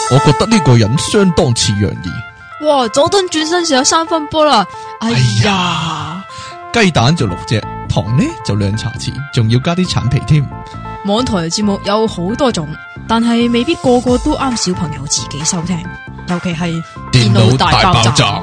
我覺得呢個人相當似楊怡。 哇！佐敦轉身時有3分波啦！哎呀， 雞蛋就6隻，糖呢就2茶匙，仲要加啲橙皮添。 網台節目有好多種，但係未必個個都啱小朋友自己收聽，尤其係電腦大爆炸。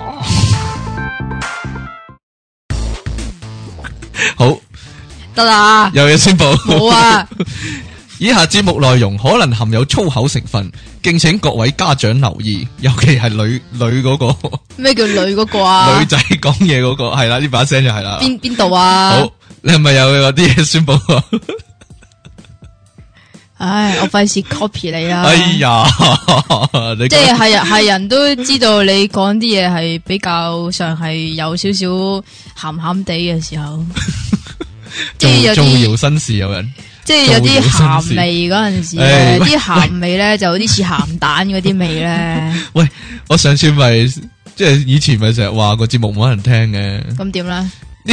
好得啦， 有嘢宣布。 冇啊！ 以下節目內容可能含有粗口成分，敬請各位家長留意，尤其係女嗰個。 咩叫女嗰個啊？ 女仔講嘢嗰個係啦，呢把聲就係啦。 邊度啊？ 好，你係咪有啲嘢宣布啊？ 唉，我費事 copy 你啦。 哎呀，你即係人都知道你講啲嘢係比較上係有少少鹹鹹地嘅時候，即係有造啲謠新事有人。 即係有啲鹹味嗰陣時咧，啲鹹味咧就有啲似鹹蛋嗰啲味咧。 喂，我上次咪即係以前咪成日話個節目冇人聽嘅。 咁點咧？ 呢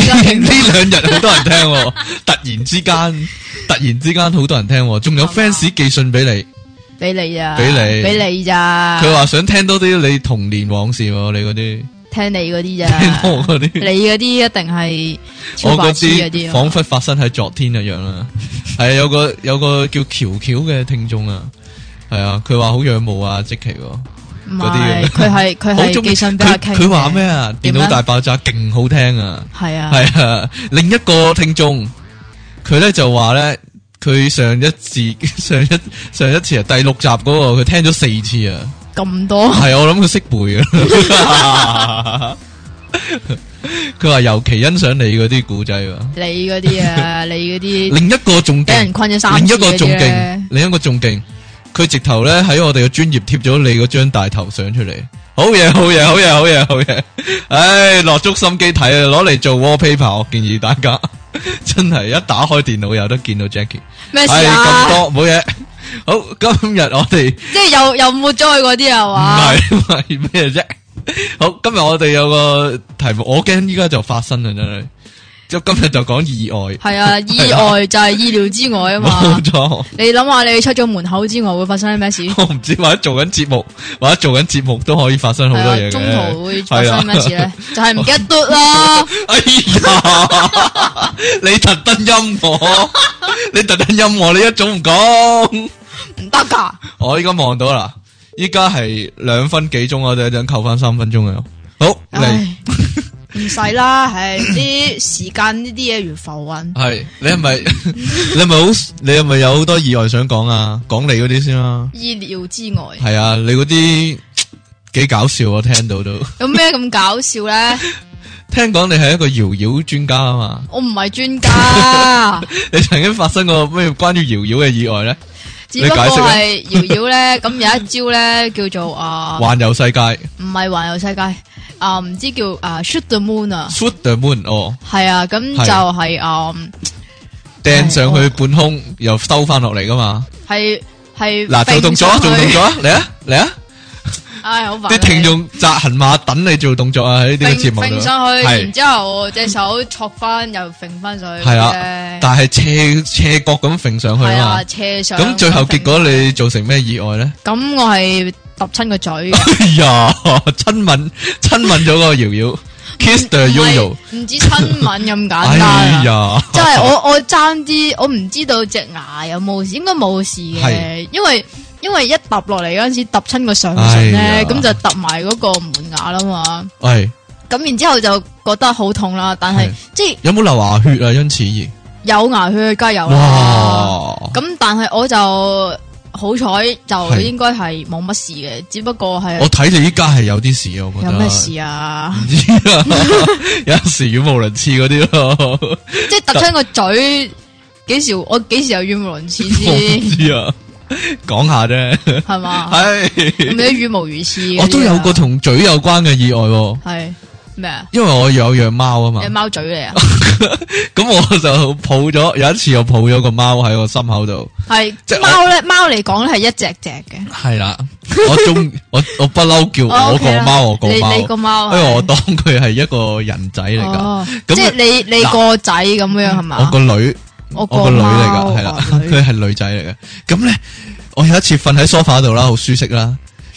2日好多人聽喎，突然之間好多人聽喎，仲有 fans 寄信俾你， 俾你咋？ 俾你咋？ 佢話想聽多啲你童年往事喎，你嗰啲。 聽你嗰啲咋？ 聽我嗰啲， 你嗰啲一定係超白痴嗰啲， 仿佛發生喺昨天一樣啦。係有個叫喬喬嘅聽眾啊，係啊，佢話好仰慕啊，積淇唔係，佢係寄信俾阿 King。 佢話咩啊？電腦大爆炸勁好聽啊！ 係啊， 係啊。另一個聽眾，佢咧就話咧，佢上一次啊，第6集嗰個，佢聽咗4次啊。 咁多係，我諗佢識背啊！佢話尤其欣賞你嗰啲古仔喎， 你嗰啲啊，你嗰啲另一個仲勁， 俾人困咗3次， 另一個仲勁，佢直頭咧喺我哋嘅專頁貼咗你嗰張大頭相出嚟，好嘢！唉，落足心機睇啊，攞嚟做 wallpaper， 我建議大家真係一打開電腦有得見到 Jackie。 咩事啊？ 咁多冇嘢。好，今日我哋即係又抹咗佢嗰啲係嘛？ 唔係咩啫？好，今日我哋有個題目，我驚依家就發生啦，真係。即今日就講意外。係啊，意外就係意料之外啊嘛。 冇錯。 你諗下，你出咗門口之外會發生咩事？ 我唔知，或者做緊節目都可以發生好多嘢嘅。 中途會發生咩事咧？就係唔記得嘟啦。 哎呀，你特登陰我，你一早唔講。 唔得噶！ 我依家望到啦，依家係2分幾鐘，我哋一陣扣翻3分鐘啊！好嚟， 唔使啦，係啲時間呢啲嘢如浮雲。 係你係咪有好多意外想講啊？講你嗰啲先啦。 意料之外。係啊，你嗰啲幾搞笑，我聽到都。 有咩咁搞笑咧？ 聽講你係一個搖搖專家啊嘛。我唔係專家。 你曾經發生過咩關於搖搖嘅意外咧？ 只不過係搖搖咧，咁有一招咧叫做環遊世界， 唔係環遊世界，唔知叫shoot the moon 啊 ，shoot the moon 哦， 係啊，咁就係掟上去半空，又收翻落嚟噶嘛， 係嗱做動作啊，嚟啊！ 唉，好煩！ 啲聽眾紮行馬等你做動作啊！喺呢個節目度， 揈上去，然之後隻手戳翻，又揈翻上去。 係啊，但係斜角咁揈上去啊嘛。 斜上。咁最後結果你造成咩意外咧？ 咁我係揼親個嘴。 哎呀，親吻咗個瑤瑤 ，kiss the Yoyo。唔止親吻咁簡單。 哎呀， 即係我爭啲，我唔知道隻牙有冇事，應該冇事嘅，因為一揼落嚟嗰陣時揼親個上唇咧，咁就揼埋嗰個門牙啦嘛。係，咁然之後就覺得好痛啦。但係即係有冇流牙血啊？因此而有牙血，梗係有啦。咁但係我就好彩，就應該係冇乜事嘅，只不過係我睇你依家係有啲事啊。我覺得有咩事啊？唔知啊，有陣時語無倫次嗰啲咯，即係揼親個嘴。我幾時有語無倫次先？唔知啊。講下啫，係嘛？係咁啲語無如次。我都有個同嘴有關嘅意外。係咩啊？因為我有養貓啊嘛。養貓嘴嚟啊！咁我就抱咗，有一次我抱咗個貓喺我心口度。係即係貓咧，貓嚟講咧係一隻隻嘅。係啦，我不嬲叫我個貓我個貓，你個貓，因為我當佢係一個人仔嚟噶。即係你個仔咁樣係嘛？我個女。我個女嚟噶，係啦，佢係女仔嚟嘅。咁咧，我有一次瞓喺梳化度啦，好舒適啦。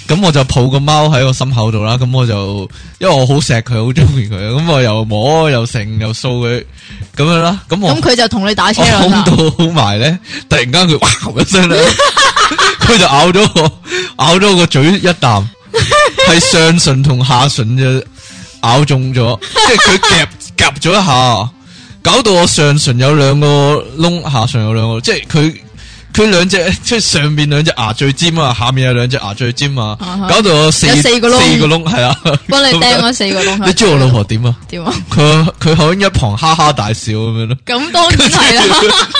咁我就抱個貓喺我心口度啦，咁我就因為我好錫佢，好中意佢，咁我又摸又成又掃佢咁樣啦，咁佢就同你打車啦， 我控到好埋咧，突然間佢哇一聲咧，佢就咬咗我個嘴一啖，係上唇同下唇就咬中咗，即係佢夾咗一下，搞到我上唇有兩個窿，下唇有兩個，即係佢兩隻即係上面兩隻牙最尖啊，下面有兩隻牙最尖啊，搞到我四個窿係啊， 幫你釘咗4個窿。 你知我老婆點啊？ 點啊？ 佢喺一旁哈哈大笑咁樣咯。 咁當然係啦。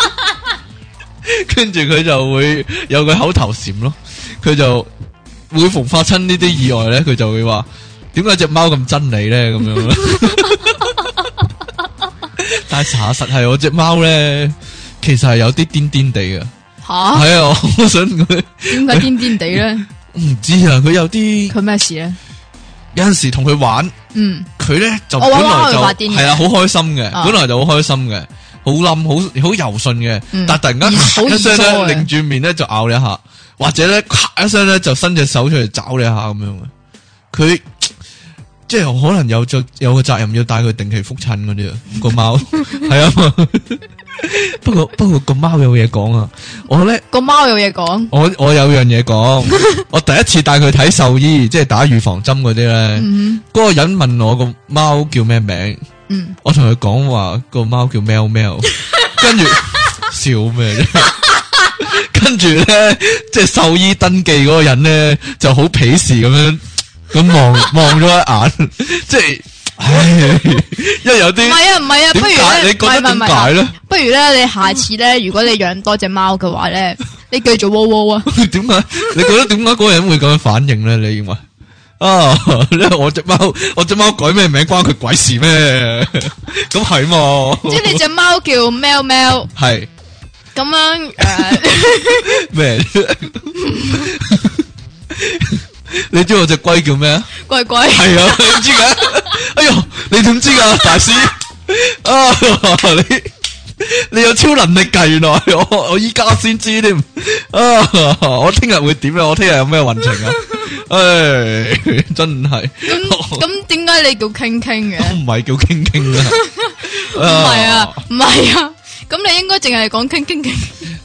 跟住佢就會有個口頭禪咯，佢就每逢發生呢啲意外咧，佢就會話：點解隻貓咁憎你咧？咁樣咯。但係查實係我隻貓咧，其實係有啲癲癲地嘅。 吓， 係啊！我想佢點解癲癲地咧？ 唔知啊，佢有啲佢咩事咧？ 有陣時同佢玩，佢咧就本來就係啊，好開心嘅，本來就好開心嘅，好冧，好柔順嘅，但係突然間一聲咧，擰住面咧就咬你一下，或者咧一聲咧就伸隻手出嚟抓你一下咁樣嘅。佢即係可能有個責任要帶佢定期復診嗰啲啊，個貓係啊。不過個貓有嘢講啊！我咧個貓有嘢講， 我有樣嘢講。我第一次帶佢睇獸醫，即係打預防針嗰啲咧。嗰個人問我個貓叫咩名，我同佢講話個貓叫喵喵，跟住笑咩啫？跟住咧，即係獸醫登記嗰個人咧就好鄙視咁望咗一眼，即係。唉，因為有啲唔係啊，不如咧， 你覺得點解咧？ 不如咧，你下次咧，如果你養多隻貓嘅話咧，你繼續喔喔啊！ 點解？你覺得點解嗰個人會咁樣反應咧？你認為啊？因為我隻貓改咩名關佢鬼事咩？咁係嘛？ 即係你隻貓叫喵喵， 係咁樣咩？你知我隻龜叫咩啊？ 龜龜係啊，你知噶？哎呦，你點知噶，大師啊？你有超能力噶？原來我依家先知添啊！我聽日會點啊？我聽日有咩運程啊？唉，真係咁點解你叫傾傾嘅？ 唔係叫傾傾啊？ 唔係啊！咁你應該淨係講傾傾傾。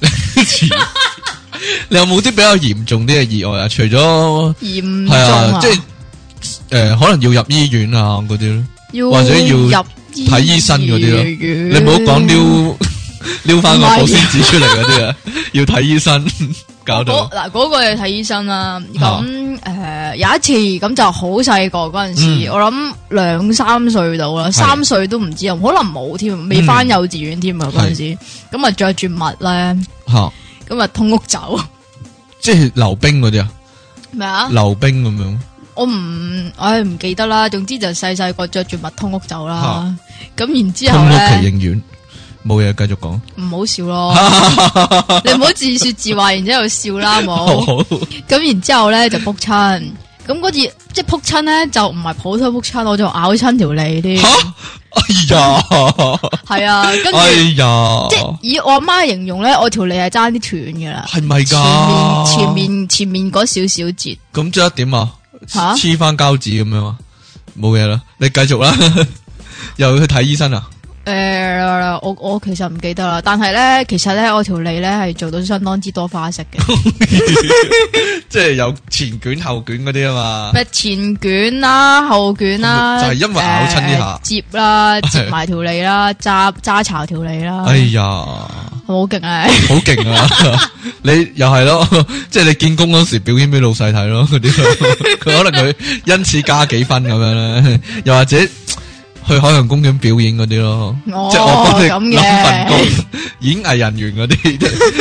你有冇啲比較嚴重啲嘅意外啊？除咗嚴重啊， 即係可能要入醫院啊嗰啲咯，或者要入睇醫生嗰啲咯。你唔好講撩翻個保鮮紙出嚟嗰啲啊，要睇醫生搞到。 嗱，嗰個要睇醫生啦。咁有一次咁就好細個嗰陣時，我諗2-3歲到啦，3歲都唔知啊，可能冇添，未翻幼稚園添啊嗰陣時。咁啊着住襪咧。咁啊，通屋走，即係溜冰嗰啲啊？ 咩啊？ 溜冰咁樣？我唔記得啦。總之就細個着住襪通屋走啦。咁然之後咧， 通屋奇形院冇嘢，繼續講。 唔好笑咯，你唔好自說自話，然之後笑啦，冇。咁然之後咧就扑親，咁嗰次即係扑親咧就唔係普通扑親，我就咬親條脷添。 哎呀， 係啊，跟住， 哎呀， 即係以我阿媽形容咧，我條脷係爭啲斷噶啦， 係咪噶？ 前面嗰少少節， 咁即係點啊？黐翻膠紙咁樣啊？冇嘢啦，你繼續啦，又去睇醫生啊？ 我其實唔記得啦，但係咧，其實咧，我條脷咧係做到相當之多花式嘅， 即係有前捲後捲嗰啲啊嘛。 咩前捲啦，後捲啦， 就係因為咬親呢下， 接啦，接埋條脷啦，揸巢條脷啦。 哎呀， 好勁啊！ 好勁啊！你又係咯，即係你見工嗰時表演俾老細睇咯，嗰啲佢可能佢因此加幾分咁樣咧，又或者。去海洋公園表演嗰啲咯，即係我幫你諗份工，演藝人員嗰啲，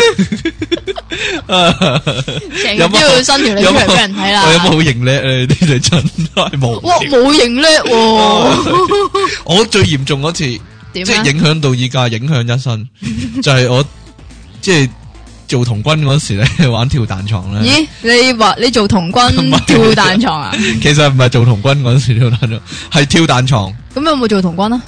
成日都要伸條脷出嚟俾人睇啦。 我有冇好型叻啊？呢啲真係冇。 哇，冇型叻喎！ 我最嚴重嗰次，即係影響到依家，影響一生，就係我即係做童軍嗰時咧，玩跳彈床咧。 咦？你話你做童軍跳彈床啊？ 其實唔係做童軍嗰時跳彈床，係跳彈床。 咁有冇做童軍啊？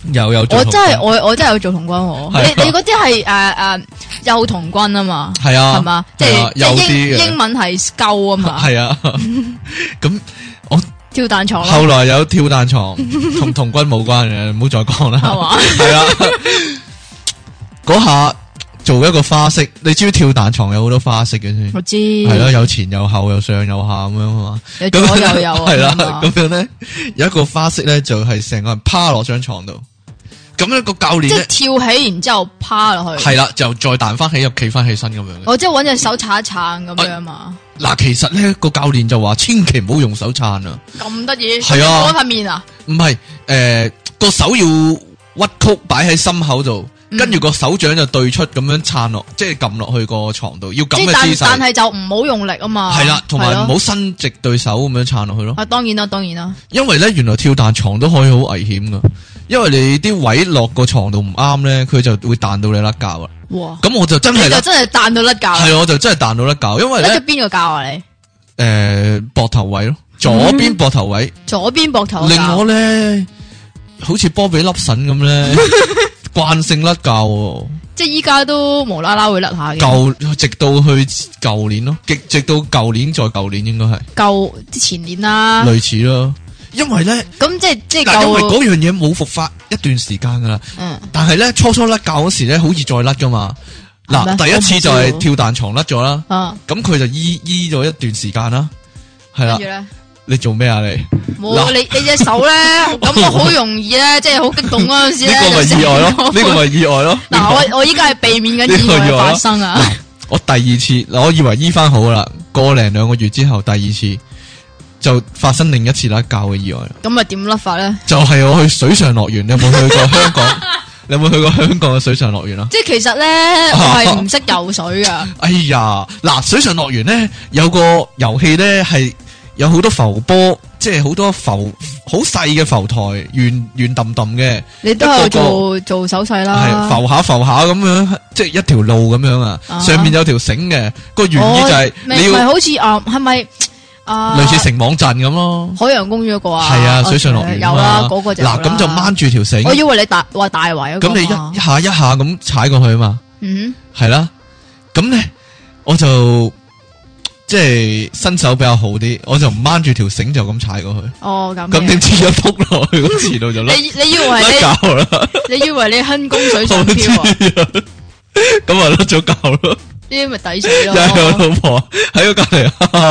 有做童軍， 我真係有做童軍喎。你嗰啲係幼童軍啊嘛， 係啊， 係嘛，即係英文係 Scout 啊嘛， 係啊。咁我跳彈床， 後來有跳彈床，同童軍冇關嘅，唔好再講啦。係嘛，係啊。嗰下做一個花式，你知唔知跳彈床有好多花式嘅先？ 我知， 係咯，有前有後，有上有下咁樣啊嘛。 有左又有， 係啦，咁樣咧有一個花式咧，就係成個人趴落張床度。咁樣個教練即係跳起，然之後趴落去。 係啦，就再彈翻起，又企翻起身咁樣。 我即係搵隻手撐一撐咁樣嘛。 嗱，其實咧個教練就話，千祈唔好用手撐啊。 咁得意？ 係啊， 嗰塊面啊？ 唔係，個手要屈曲擺喺心口度。跟住個手掌就對出咁樣撐落，即係撳落去個床度，要咁嘅姿勢。 但係就唔好用力啊嘛。 係啦，同埋唔好伸直對手咁樣撐落去咯。 啊，當然啦。 因為咧，原來跳彈床都可以好危險噶，因為你啲位落個床度唔啱咧，佢就會彈到你甩臼啦。哇！咁我就真係彈到甩臼。 係，我就真係彈到甩臼，因為咧。 甩咗邊個臼啊你？ 膊頭位咯，左邊膊頭位。 左邊膊頭。 令我咧，好似波比粒腎咁咧。慣性甩臼， 即係依家都無啦啦會甩下嘅。 直到去舊年咯，直到舊年再舊年應該係前年啦， 類似咯。因為咧， 咁即係因為嗰樣嘢冇復發一段時間噶啦。但係咧初甩臼嗰時咧，好易再甩噶嘛。嗱，第一次就係跳彈床甩咗啦。咁佢就醫咗一段時間啦。係啦。你做咩啊你？ 冇你隻手咧，咁我好容易咧，即係好激動嗰陣時咧。 呢個咪意外咯，呢個咪意外咯。 嗱，我依家係避免緊意外發生啊。 我第二次，我以為醫翻好啦，個零2個月之後，第二次就發生另一次甩臼嘅意外。 咁啊點甩法咧？ 就係我去水上樂園，你有冇去過香港？你有冇去過香港嘅水上樂園啊？ 即係其實咧，我係唔識游水噶。 哎呀，嗱，水上樂園咧有個遊戲咧係。有好多浮波，即係好多好細嘅浮台，圓揼揼嘅。你都係做手勢啦， 係浮下咁樣，即係一條路咁樣啊。上面有條繩嘅，個原意就係你要好似係咪類似城網陣咁咯？ 海洋公園嗰個啊， 係啊，水上樂園有啦，嗰個就嗱咁就掹住條繩。 我以為你話大圍咁你一下一下咁踩過去啊嘛。係啦，咁咧我就。即係身手比較好啲，我就掹住條繩就咁踩過去。 哦， 咁點知一撲落去個池度就甩。 你以為你以為你輕功水上漂啊？ 咁啊甩咗臼咯。 呢啲咪抵死咯。 有老婆喺個隔籬，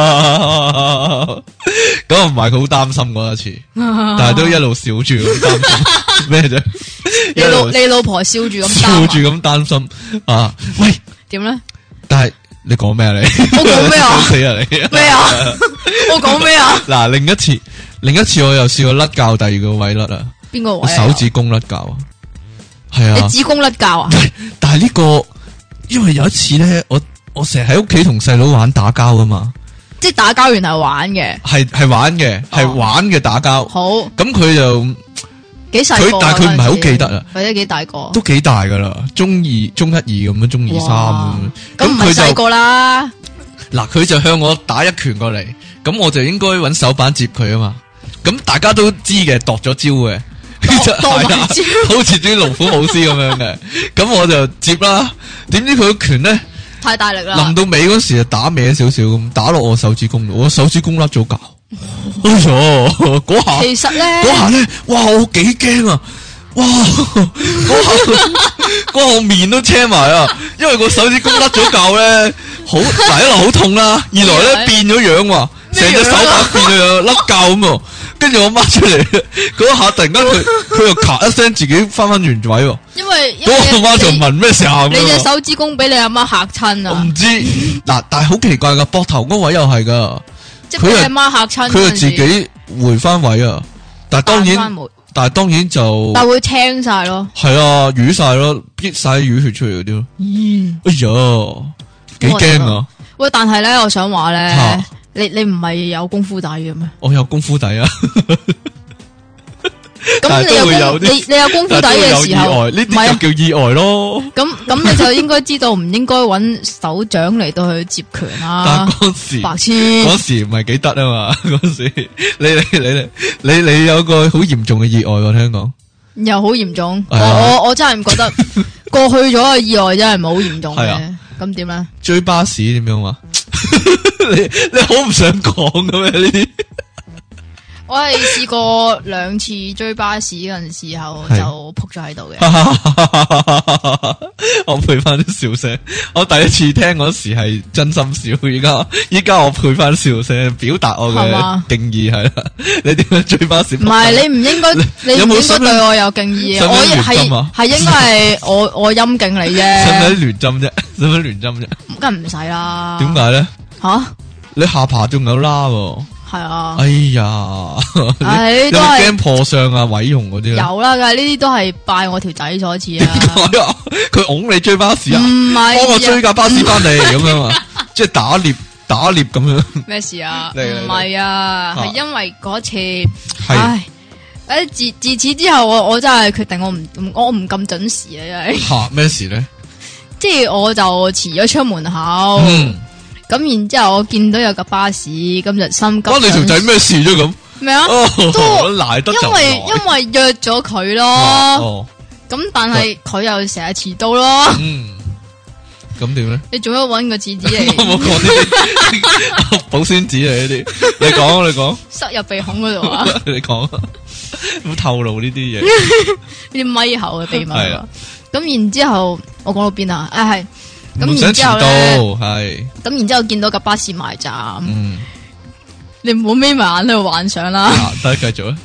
咁啊唔係佢好擔心嗰一次，但係都一路笑住咁擔心咩啫？ 你老婆笑住咁擔心啊？喂， 點咧？ 但係。你講咩啊你？ 我講咩啊？ 死啊你！ 咩啊？我講咩啊？ 嗱，另一次我又試過甩臼，第二個位甩啊。 邊個位？ 手指公甩臼啊？係啊。 你指公甩臼啊？ 但係呢個，因為有一次咧，我成日喺屋企同細佬玩打交噶嘛。 即係打交原來係玩嘅。 係玩嘅，係玩嘅打交。 好。 咁佢就。 幾細個？ 但係佢唔係好記得啊， 或者幾大個？ 都幾大噶啦，中一、2咁樣，中2、3咁。 咁唔係細個啦。 嗱，佢就向我打一拳過嚟，咁我就應該揾手板接佢啊嘛。咁大家都知嘅，度咗招嘅，好似啲龍虎武師咁樣嘅。咁我就接啦，點知佢個拳咧太大力啦， 臨到尾嗰時就打歪少少咁，打落我手指公度，我手指公甩咗臼。哎呀，嗰下其實咧， 哇，我幾驚啊！哇，嗰下我面都青埋啊，因為個手指公甩咗臼咧，好第一來好痛啦，二來咧變咗樣喎，成隻手板變咗樣，甩臼咁。跟住我掹出嚟，嗰下突然間佢又咔一聲自己翻原位喎。因為嗰個阿媽就問咩時候？ 你隻手指公俾你阿媽嚇親啊！ 我唔知嗱，但係好奇怪噶，膊頭嗰位又係噶。 佢係媽嚇親， 佢係自己回翻位啊！但係當然就但會青晒咯， 係啊，瘀晒咯，逼晒啲淤血出嚟嗰啲咯。哎呀，幾驚啊！ 喂，但係咧，我想話咧，你唔係有功夫底嘅咩？ 我有功夫底啊！ 咁你有功夫底嘅時候， 呢啲就叫意外咯。 咁你就應該知道唔應該揾手掌嚟到去接拳啦。 但嗰時白痴， 嗰時唔係幾得啊嘛。嗰時你有個好嚴重嘅意外喎，聽講又好嚴重。 係啊我真係唔覺得過去咗嘅意外真係冇嚴重係啊嘅。咁點咧？ 追巴士點樣啊？你好唔想講咁咩？呢啲我係試過2次追巴士嗰陣時候係就扑咗喺度嘅。 我配翻啲笑聲。我第一次聽嗰時係真心笑，依家我配翻笑聲，表達我嘅係嘛敬意係啦。你點樣追巴士？ 唔係你唔應該，你有唔應該冇使唔使對我有敬意嘅。 使唔使我亂針啊係應該係我陰敬你使唔啫， 使亂針啫？使唔使亂針啫？ 梗係唔使啦。 點解咧？ 吓？ 你下巴仲有拉喎。 係啊。 哎呀， 唉你有都係冇驚破相啊、毀容嗰啲啊？ 有啦，噶呢啲都係拜我條仔所賜啊。 佢拱你追巴士啊？ 唔係幫我追架巴士翻嚟咁樣啊？即係打獵咁樣。 咩事啊？ 嚟唔係啊， 啊係因為嗰次， 係唉，自此之後，我真係決定我唔咁準時啊，真係， 吓咩事咧？ 即係我就遲咗出門口， 嗯， 咁然之後我見到有架巴士，咁就心急。 關你條仔咩事啫咁？ 咩啊？ 哦， 都賴得就因為賴因為約咗佢咯， 哦， 咁但係佢又成日遲到咯， 嗯，咁點咧？ 你做乜搵個廁紙我冇嚟講呢啲保鮮紙嚟呢啲，你講， 塞入鼻孔嗰度啊？ 你講，唔透露呢啲嘢。 呢啲咪後嘅秘密係啊啊！咁然之後我講到邊啊？係唔想咁然之後遲到， 咧， 係， 咁然之後見到架巴士埋站， 嗯， 你唔好眯埋眼喺度幻想啦。 啊得繼續啊，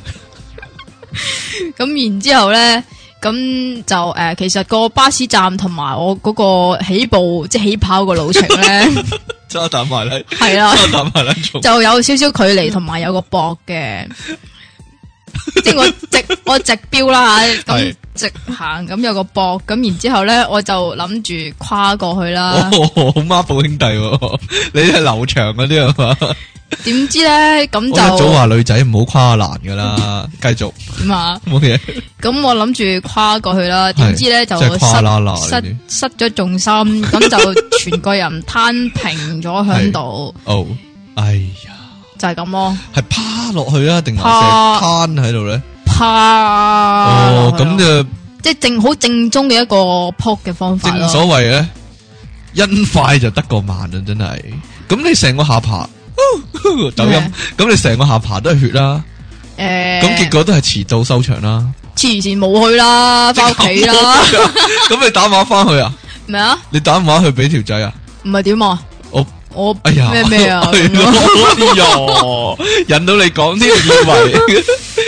咁然之後咧，咁就其實個巴士站同埋我嗰個起步即係起跑個路程咧， 揸蛋埋嚟， 係啦， 揸蛋埋嚟做， 就有少少距離同埋有個膊嘅，即係我直標啦吓，咁係直行咁有個膊，咁然之後咧我就諗住跨過去啦。 哦，好孖寶兄弟喎，你係劉翔嗰啲係嘛？ 點知咧咁我一早就話女仔唔好跨欄噶啦，繼續點啊？ 冇嘢， 咁我諗住跨過去啦，點知咧就即係跨啦啦呢啲失咗重心，咁就全個人攤平咗喺度， 哦，哎呀， 就係咁咯。 係趴落去啊，定還趴是攤喺度咧？ 趴哦， 落去咁就即係好正宗嘅一個撲嘅方法正咯。 所謂咧，因快就得個慢啊，真係。咁你成個下巴抖音咩， 咁你成個下巴都係血啦， 誒， 咁結果都係遲到收場啦。 黐線冇去啦，翻屋企啦。 咁你打電話翻去啊？ 咩啊？ 你打電話去俾條仔啊？ 唔係點啊？我哎呀， 咩啊？ 係咯哎呀，引到你講添，以為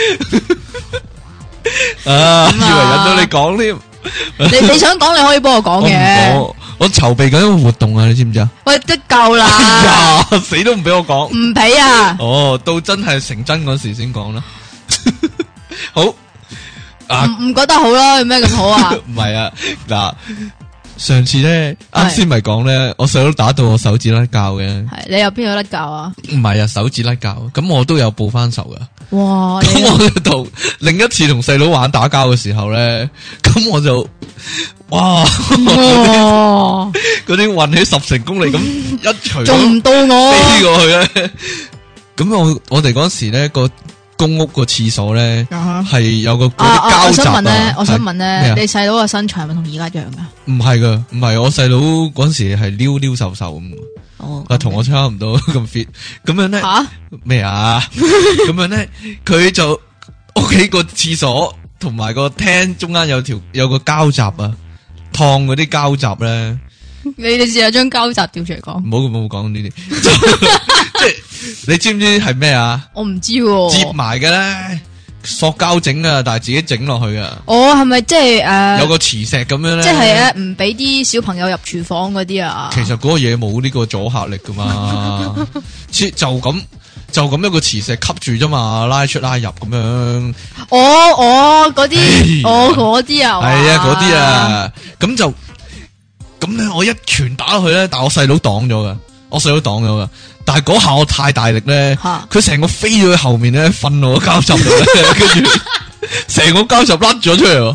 啊，以為引到你講添。 你想講你可以幫我講我唔嘅。 講，我籌備緊一個活動啊，你知唔知啊？ 喂，得夠哎啦， 呀，死都唔俾我講。 唔俾啊！ 哦，到真係成真嗰時先講啦。好啊， 唔覺得好咯？有咩咁好啊？ 唔係啊，嗱，上次咧， 係啱先咪講咧，我細佬打到我手指甩臼嘅， 係你有邊有得教啊？ 唔係啊，手指甩臼，咁我都有報翻仇噶。 哇！ 咁你我同另一次同細佬玩打交嘅時候咧，咁我就哇， 哇， 嗰啲運起10成功力咁一錘仲唔到飛我？ 過去咧。咁我哋嗰時咧個公屋個廁所咧係有個嗰啲膠我想閘問咧，我想問咩咧， 啊你細佬個身材係咪同而家一樣噶？ 唔係噶，唔係我細佬嗰時係溜溜瘦瘦咁， 哦啊同我差唔多咁 fit，咁樣咧吓咩啊？咁樣咧，佢就屋企個廁所同埋個廳中間有個膠閘啊，燙嗰啲膠閘咧， 你試下將膠閘調出嚟講， 唔好講呢啲，即係你知唔知係咩啊？ 我唔知喎。 接埋嘅咧，塑膠整啊，但係自己整落去啊， 哦，係咪即係有個磁石咁樣咧， 即係咧唔俾啲小朋友入廚房嗰啲啊？ 其實嗰個嘢冇呢個阻嚇力噶嘛，就咁一個磁石吸住啫嘛，拉出拉入咁樣。 嗰啲， 哎呀嗰啲啊， 係啊，嗰啲啊，咁咧，我一拳打落去咧，但係我細佬擋咗噶，但係嗰下我太大力咧， 嚇佢成個飛咗去後面咧，瞓落個膠閘度咧，跟住成個膠閘甩咗出嚟喎。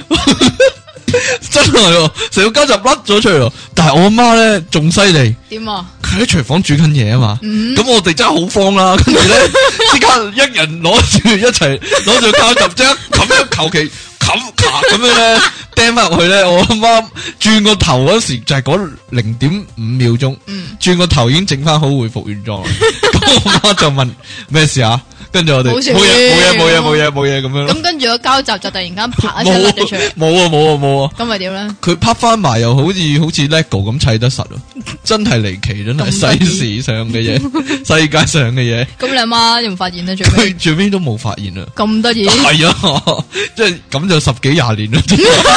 真係喎，成個膠閘甩咗出嚟喎，但係我阿媽咧仲犀利， 點啊？ 佢喺廚房煮緊嘢啊嘛，咁我哋真係好慌啦，跟住咧即刻一人攞住一齊攞住膠閘，即刻咁樣求其咁樣咧釘翻入去咧，我阿媽轉個頭嗰時就係嗰0.5秒鐘，轉個頭已經整翻好，恢復原狀。咁我媽就問咩事啊？跟住我哋冇嘢咁樣。 咁跟住個膠集就突然間啪一聲甩咗出嚟。 冇啊。 咁咪點咧？ 佢拍翻埋又好似 Lego 咁砌得實咯，真係離奇，真係世事上嘅嘢，世界上嘅嘢。 咁你阿媽有冇發現咧？ 佢最尾都冇發現啊！ 咁得意係啊，即係咁就10幾20年啦。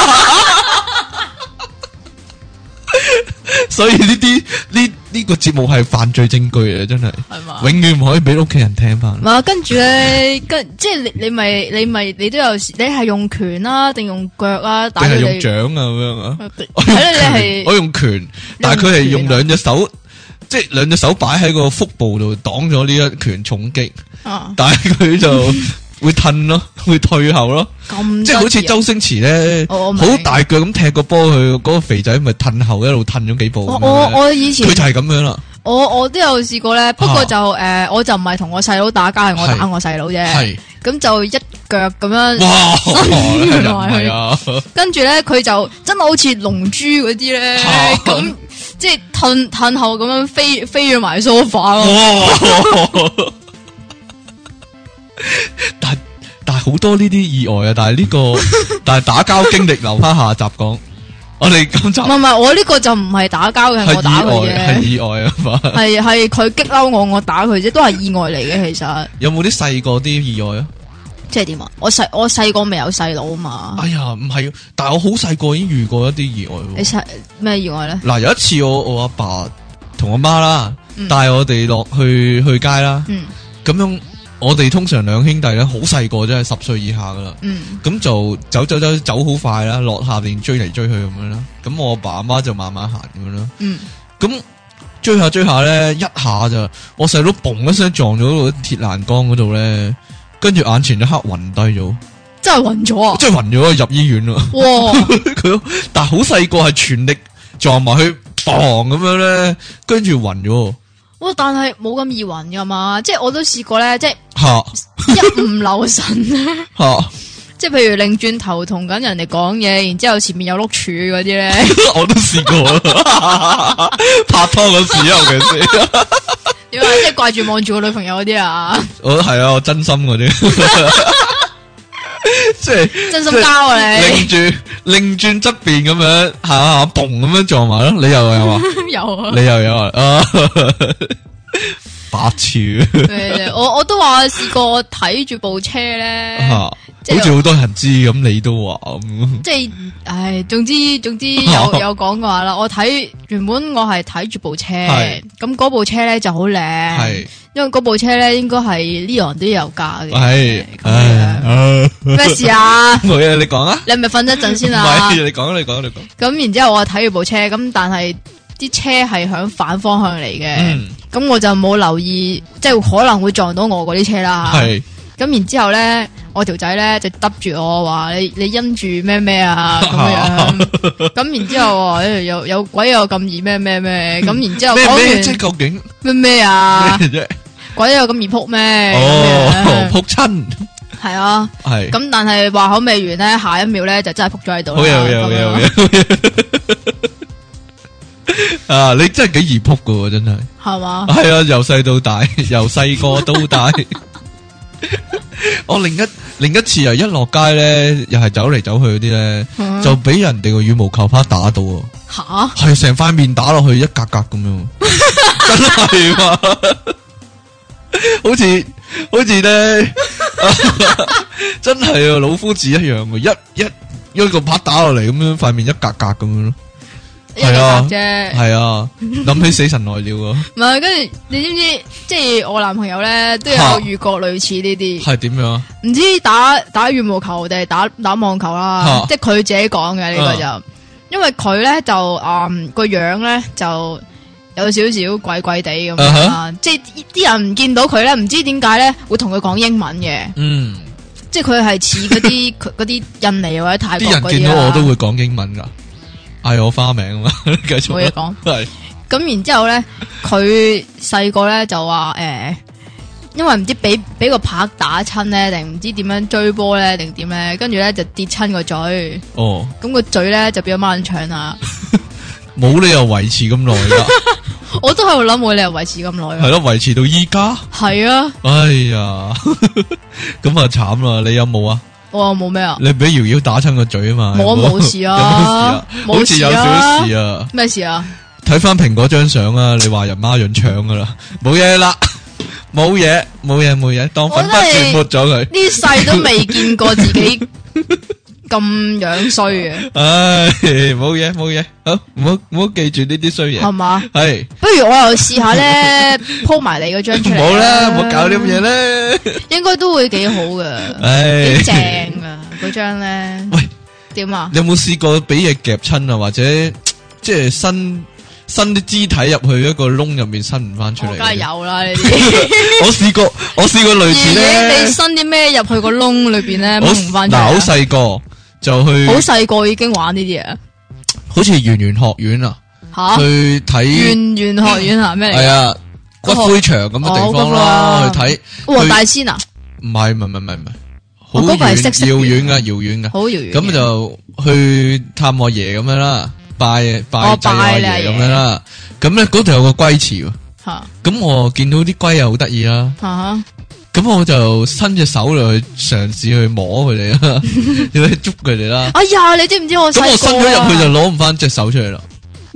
所以呢個節目係犯罪證據啊！真係，永遠唔可以俾屋企人聽翻。 唔係，跟住咧，即係你都有時，你係用拳啦，定用腳啊？定係用掌啊？咁樣啊？ 我用拳，但係佢係用兩隻手，即係兩隻手擺喺個腹部度擋咗呢一拳重擊。但係佢就會褪咯，會退後咯，即係好似周星馳咧，好大腳咁踢個波，佢嗰個肥仔咪褪後一路褪咗幾步。 我以前佢就係咁樣啦。 我都有試過咧，不過就我就唔係同我細佬打交，係我打我細佬啫。係咁就一腳咁樣伸埋去，跟住咧佢就真係好似龍珠嗰啲咧，咁即係褪後咁樣飛咗埋梳化咯。 但係好多呢啲意外啊！但係打交經歷留翻下集講。我哋今集唔係我呢個就唔係打交嘅，我打佢嘅係意外啊嘛。 係佢激嬲我打佢啫，都係意外嚟嘅。其實有冇啲細個啲意外啊？ 即係點啊？我細個未有細佬啊嘛。 哎呀，唔係，但係我好細個已經遇過一啲意外。 你咩意外咧？ 嗱，有一次我阿爸同我媽啦，帶我哋落去街啦，咁樣。我哋通常兩兄弟咧，好細個，真係10歲以下噶啦。咁就走好快啦，落下邊追嚟追去咁樣啦。咁我阿爸阿媽就慢慢行咁樣啦。咁追下咧，一下就我細佬嘣一聲撞咗個鐵欄杆嗰度咧，跟住眼前一刻暈低咗， 真係暈咗啊！ 真係暈咗，入醫院啦。哇！佢但係好細個，係全力撞埋去，嘣咁樣咧，跟住暈咗。 但係冇咁易暈噶嘛，即係我都試過咧，即係一唔留神即係譬如擰轉頭同緊人哋講嘢，然之後前面有碌柱嗰啲咧， 我都試過拍拖嗰時，尤其是點啊，即係掛住望住個女朋友嗰啲啊， 我係啊，我真心嗰啲，即係真心交啊你， 擰轉側邊咁樣下嘣咁樣撞埋咯，你又有啊？ 有啊， 你又有啊？白痴！ 我都話試過睇住部車咧， 好似好多人知咁，你都話咁， 即係唉，總之有講過話啦。我原本我係睇住部車，咁嗰部車咧就好靚，因為嗰部車咧應該係Leon都有價嘅。係咩事啊？ 冇嘢，你講啊！ 你係咪瞓一陣先啊？ 唔係，你講。 咁然之後我睇住部車，咁但係啲車係響反方向嚟嘅，咁我就冇留意，即係可能會撞到我嗰啲車啦。係咁然之後咧，我條仔咧就揼住我話你因住咩啊咁樣，咁然之後話有鬼有咁易咩，咁然之後講完即係究竟咩啊？鬼有咁易撲咩？ 撲親係啊，係咁，但係話口未完咧，下一秒咧就真係撲咗喺度。好嘢。啊！你真係幾易撲噶，真係係嘛？ 係啊，由細到大，由細個到大。我另一次又一落街咧，又係走嚟走去嗰啲咧，就俾人哋個羽毛球拍打到啊！吓，係成塊面打落去一格格咁樣，真係嘛？好似咧，真係啊，老夫子一樣嘅，一個拍打落嚟咁樣，塊面一格格咁樣咯。係啊，係啊，諗起死神來了啊！ 唔係，跟住你知唔知？即係我男朋友咧都有遇過類似呢啲。係點樣？唔知打羽毛球定係打網球啦？即係佢自己講嘅呢個就，因為佢咧就個樣咧就有少少怪怪地咁樣，即係啲人唔見到佢咧，唔知點解咧會同佢講英文嘅。嗯，即係佢係似嗰啲印尼或者泰國嗰啲。啲人見到我都會講英文噶。嗌我花名啊嘛，繼續冇嘢講。係咁，然之後咧，佢細個咧就話因為唔知俾個拍打親咧，定唔知點樣追波咧，定點咧，跟住咧就跌親個嘴。 哦， 咁個嘴咧就變咗孖腸啦。 冇理由維持咁耐噶。 我都喺度諗，冇理由維持咁耐。 係咯，維持到依家。 係啊。 哎呀，咁啊慘啦！你有冇啊？ 我冇咩啊？ 你俾瑤瑤打親個嘴啊嘛？ 冇事啊， 好似有少少事啊。 咩事啊？ 睇翻蘋果張相啊，你話人孖潤腸噶啦，冇嘢啦，冇嘢，當粉筆字抹咗佢。 呢世都未見過自己咁樣衰嘅。 唉，冇嘢，好，唔好記住呢啲衰嘢。係嘛？ 係。 不如我又試下咧，鋪埋你嗰張出嚟。 冇啦，唔好搞啲咁嘢咧。 應該都會幾好噶，幾正噶嗰張咧。 喂， 點啊？ 你有冇試過俾嘢夾親啊？或者即係伸啲肢體入去一個窿入面伸唔翻出嚟？ 梗係有啦呢啲。 我試過類似咧。 你伸啲咩入去個窿裏邊咧？掹唔翻出嚟。 嗱，好細個就去。 好細個已經玩呢啲嘢。 好似圓玄學院啊。 吓。去睇。 圓玄學院係咩嚟？ 係啊，骨灰場咁嘅地方啦，去睇。 黃大仙啊？ 唔係，好遠遙遠噶。 好遙遠。 咁就去探我爺咁樣啦。拜祭我爺咁樣啦，咁咧嗰度有個龜池，咁我見到啲龜又好得意啦，咁我就伸隻手落去嘗試去摸佢哋啦，要去捉佢哋啦。 哎呀，你知唔知我細個？咁我伸咗入去就攞唔翻隻手出嚟啦，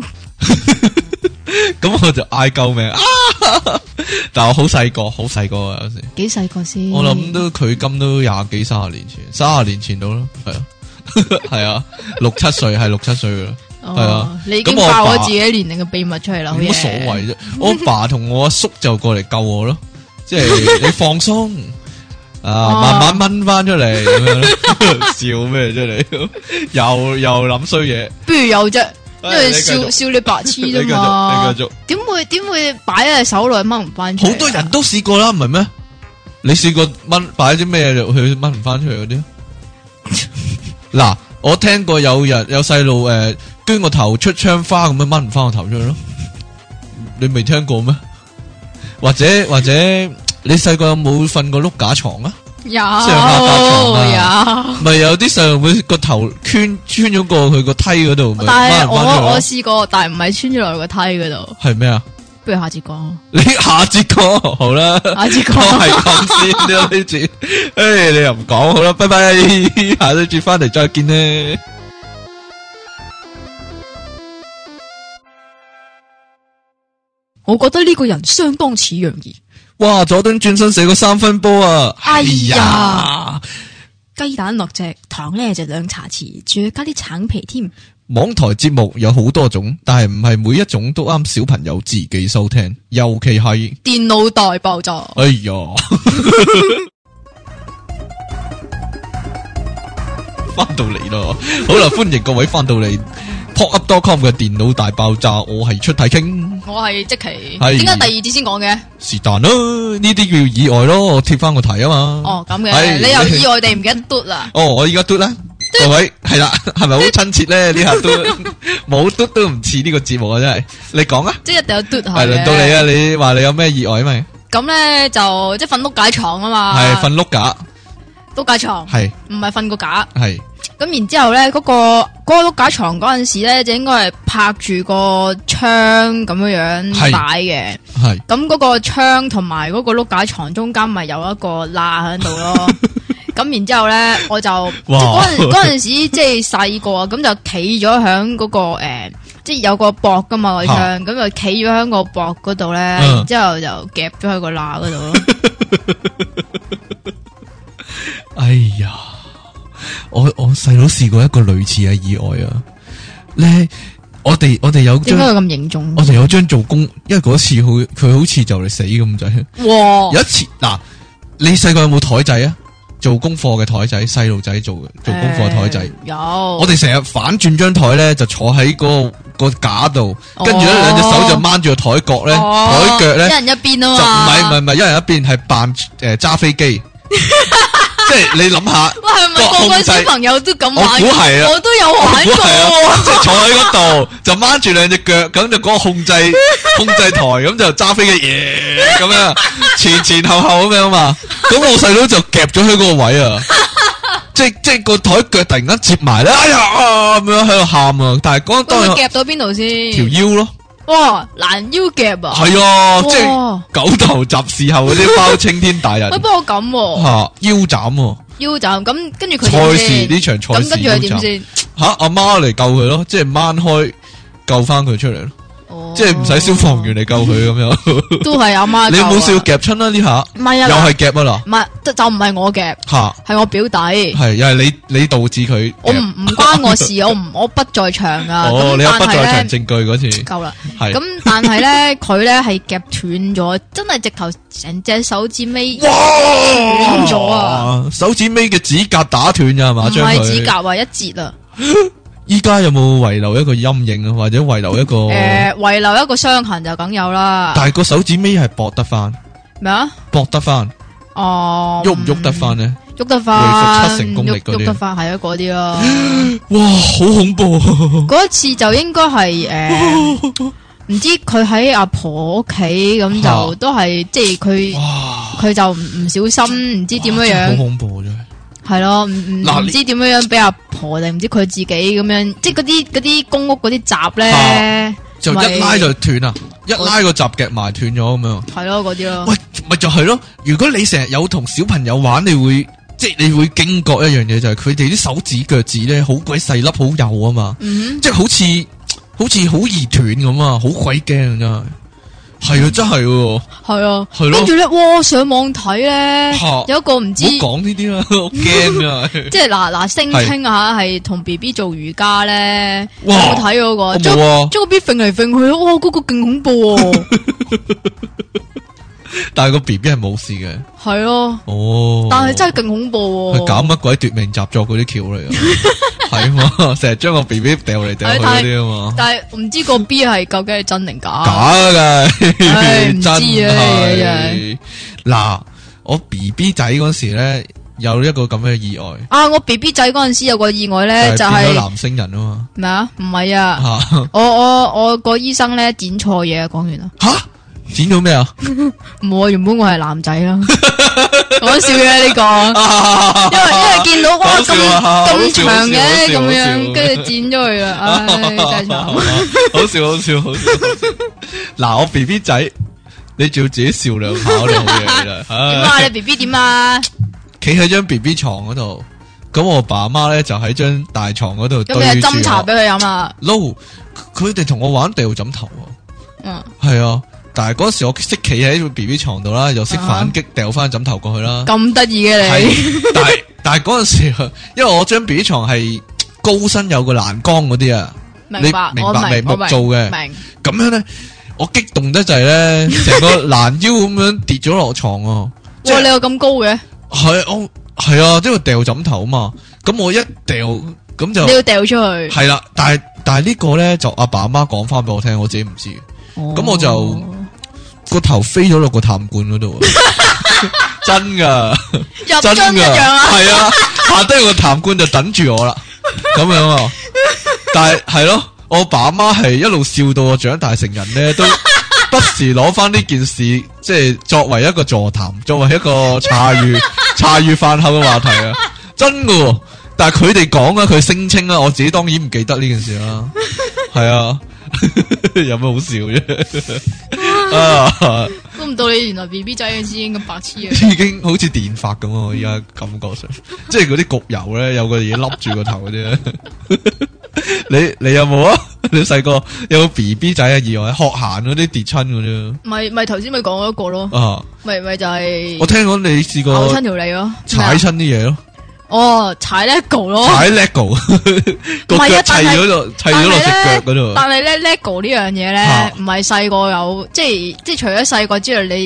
咁我就嗌救命啊！但我好細個啊，有時幾細個先？ 我諗都距今都廿幾30年前，30年前到啦，係啊，係啊，6、7歲係6、7歲噶啦。係啊， 你已經爆咗自己年齡嘅秘密出嚟啦， 冇乜所謂啫。我阿爸同我阿叔就過嚟救我咯，即係你放鬆啊，慢慢掹翻出嚟咁樣咯。笑咩啫你？又諗衰嘢， 不如有啫，因為笑你白痴啫嘛。 你繼續， 點會擺喺手內掹唔翻出嚟？ 好多人都試過啦，唔係咩？你試過擺啲咩入去掹唔翻出嚟嗰啲？嗱，我聽過有細路捐個頭出窗花咁樣掹唔翻個頭出去咯，你未聽過咩？或者你細個有冇瞓過碌架床啊？ 有， 上下架床啊，咪有啲細路會個頭穿咗過去個梯嗰度。 但係我試過，但係唔係穿咗落個梯嗰度。 係咩啊？ 不如下節講。 你下節講好啦， 下節講係咁先啦呢節。誒，你又唔講好啦，拜拜，下一節翻嚟再見咧。 我覺得呢個人相當似楊怡。 哇！佐敦轉身射個3分波啊！ 哎呀，雞蛋落隻糖咧就2茶匙，仲要加啲橙皮添。 網台節目有好多種，但係唔係每一種都啱小朋友自己收聽，尤其係電腦大爆炸。 哎呀！翻到嚟咯，好啦，歡迎各位翻到嚟。popup.com 嘅電腦大爆炸，我係出體傾， 我係積淇，點解第二節先講嘅？ 是但啦，呢啲叫意外咯，我貼翻個題啊嘛。 哦，咁嘅，你又意外地唔記得嘟啦？ 哦，我而家嘟啦，各位係啦，係咪好親切咧？呢下嘟冇嘟都唔似呢個節目啊！真係，你講啊， 即係一定有嘟下。 係輪到你啊！你話你有咩意外咪？ 咁咧就即係瞓碌架床啊嘛， 係瞓碌架， 碌架床係唔係瞓個架？ 係。 咁然之後咧，嗰個碌架床嗰陣時咧，就應該係拍住個窗咁樣擺嘅。係。咁嗰個窗同埋嗰個碌架床中間咪有一個罅喺度咯。咁然之後咧，我就嗰陣時即係細個啊，咁就企咗響嗰個即係有個膊噶嘛個窗，咁就企咗響個膊嗰度咧，然之後就夾咗喺個罅嗰度咯。 哎呀！我細佬試過一個類似嘅意外啊！咧，我哋有張點解咁凝重？ 我哋有張做工，因為嗰次佢好似就嚟死咁滯。哇！有一次嗱，你細個有冇台仔啊？做功課嘅台仔，細路仔做功課嘅台仔有。 我哋成日反轉張台咧，就坐喺個架度，跟住咧兩隻手就掹住個台角咧，台腳咧一人一邊啊嘛。 就唔係一人一邊，係扮揸飛機。 即係你諗下， 喂，係咪個個小朋友都咁玩？ 我估係啊， 我都有玩過。 即係坐喺嗰度就掹住兩隻腳，咁就嗰個控制台咁就揸飛機耶咁樣前後咁樣嘛。咁我細佬就夾咗喺嗰個位啊，即係個台腳突然間接埋咧，哎呀咁樣喺度喊啊！但係嗰當佢夾到邊度先？ 條腰咯。 哇，攔腰夾啊！ 係啊，即係狗頭鍘侍候嗰啲包青天大人。 喂，不過咁吓腰斬， 腰斬咁，跟住佢賽事呢場賽事咁跟住佢點先？ 吓阿媽嚟救佢咯，即係掹開救翻佢出嚟咯。即係唔使消防員嚟救佢咁樣， 都係阿媽。 你有冇試過夾親啦呢下？ 唔係啊， 又係夾啊啦。 唔係就唔係我夾，係我表弟。 係又係你導致佢。 我唔關我事，我不在場啊。 哦，你有不在場證據嗰次。 夠啦。 係。 咁但係咧，佢咧係夾斷咗，真係直頭成隻手指尾斷咗啊！ 手指尾嘅指甲打斷咋係嘛？ 唔係指甲啊，一截啊！ 依家有冇遺留一個陰影啊，或者遺留一個？ 遺留一個傷痕就梗有啦。 但係個手指尾係駁得翻。 咩啊？ 駁得翻。哦。喐唔喐得翻呢？ 喐得翻。 回復7成功力嗰啲。 喐得翻係啊，嗰啲咯。 哇，好恐怖！ 嗰一次就應該係唔知佢喺阿婆屋企咁就都係即係佢就唔小心唔知點樣樣。 好恐怖真係。 係咯，唔知點樣樣俾阿婆定唔知佢自己咁樣，即係嗰啲公屋嗰啲閘咧， 就一拉就斷啦，一拉個閘夾埋斷咗咁樣。係咯，嗰啲咯。 喂，咪就係咯。如果你成日有同小朋友玩，你會驚覺一樣嘢，就係佢哋啲手指腳趾咧好鬼細粒，好幼啊嘛。即係好似好易斷咁啊，好鬼驚真係。係啊，真係喎。係啊，係咯。跟住咧，哇！上網睇咧，有一個唔知。唔好講呢啲啦，我驚啊！即係嗱，聲稱吓係同 B B 做瑜伽咧，有冇睇嗰個？將個 B 揈嚟揈去，哇！嗰個勁恐怖喎。但係個 B B 係冇事嘅。係咯。哦。但係真係勁恐怖。佢搞乜鬼奪命習作嗰啲橋嚟啊？係嘛，成日將個 B B 掉嚟掉去嗰啲啊嘛。但係唔知個 B 係究竟係真定假？假噶，唔知啊。嗱，我 B B 仔嗰時咧有一個咁嘅意外。啊，我 B B 仔嗰陣時有個意外咧，就係變咗男星人啊嘛。咩啊？唔係啊。我個醫生咧剪錯嘢啊！講完啦。吓？剪到咩啊？唔會，原本我係男仔啦。講笑嘅呢個，因為見到哇咁長嘅咁樣，跟住剪咗佢啦。唉，真係慘。好笑。嗱，我 B B 仔，你仲要自己笑兩下，你好嘢啦。點啊？你 B B 點啊？企喺張 B B 床嗰度，咁我爸媽咧就喺張大床嗰度。咁你斟茶俾佢飲啊？撈，佢哋同我玩掉枕頭。嗯，係啊。但係嗰時我識企喺個 B B 床度啦，又識反擊掉翻枕頭過去啦。咁得意嘅你？但係嗰陣時，因為我張 B B 床係高身有個欄杆嗰啲啊，你明白未？木做嘅。明。咁樣咧，我激動得滯咧，成個攔腰咁樣跌咗落床啊！哇，你有咁高嘅？係啊，即係掉枕頭啊嘛。咁我一掉咁就你要掉出去。係啦，但係呢個咧就阿爸阿媽講翻俾我聽，我自己唔知。咁我就個頭飛咗落個痰罐嗰度，真噶，入樽一樣啊，係啊，下低個痰罐就等住我啦，咁樣啊，但係咯，我爸阿媽係一路笑到我長大成人咧，都不時攞翻呢件事，即係作為一個座談，作為一個茶餘飯後嘅話題啊，真噶，但係佢哋講啊，佢聲稱啊，我自己當然唔記得呢件事啦，係啊。有咩好笑啫？估唔到你原來 B B 仔嘅時已經咁白痴啊！已經好似電髮咁啊！依家感覺上，即係嗰啲焗油咧，有個嘢笠住個頭嗰啲。你有冇啊？你細個有冇 B B 仔嘅意外？學行嗰啲跌親嗰啲？咪頭先咪講咗一個咯。啊，咪就係。我聽講你試過咬親條脷咯，踩親啲嘢咯。哦，踩 lego 咯，踩 lego 個腳砌咗落隻腳嗰度。但係咧 lego 呢樣嘢咧，唔係細個有，即係除咗細個之外，你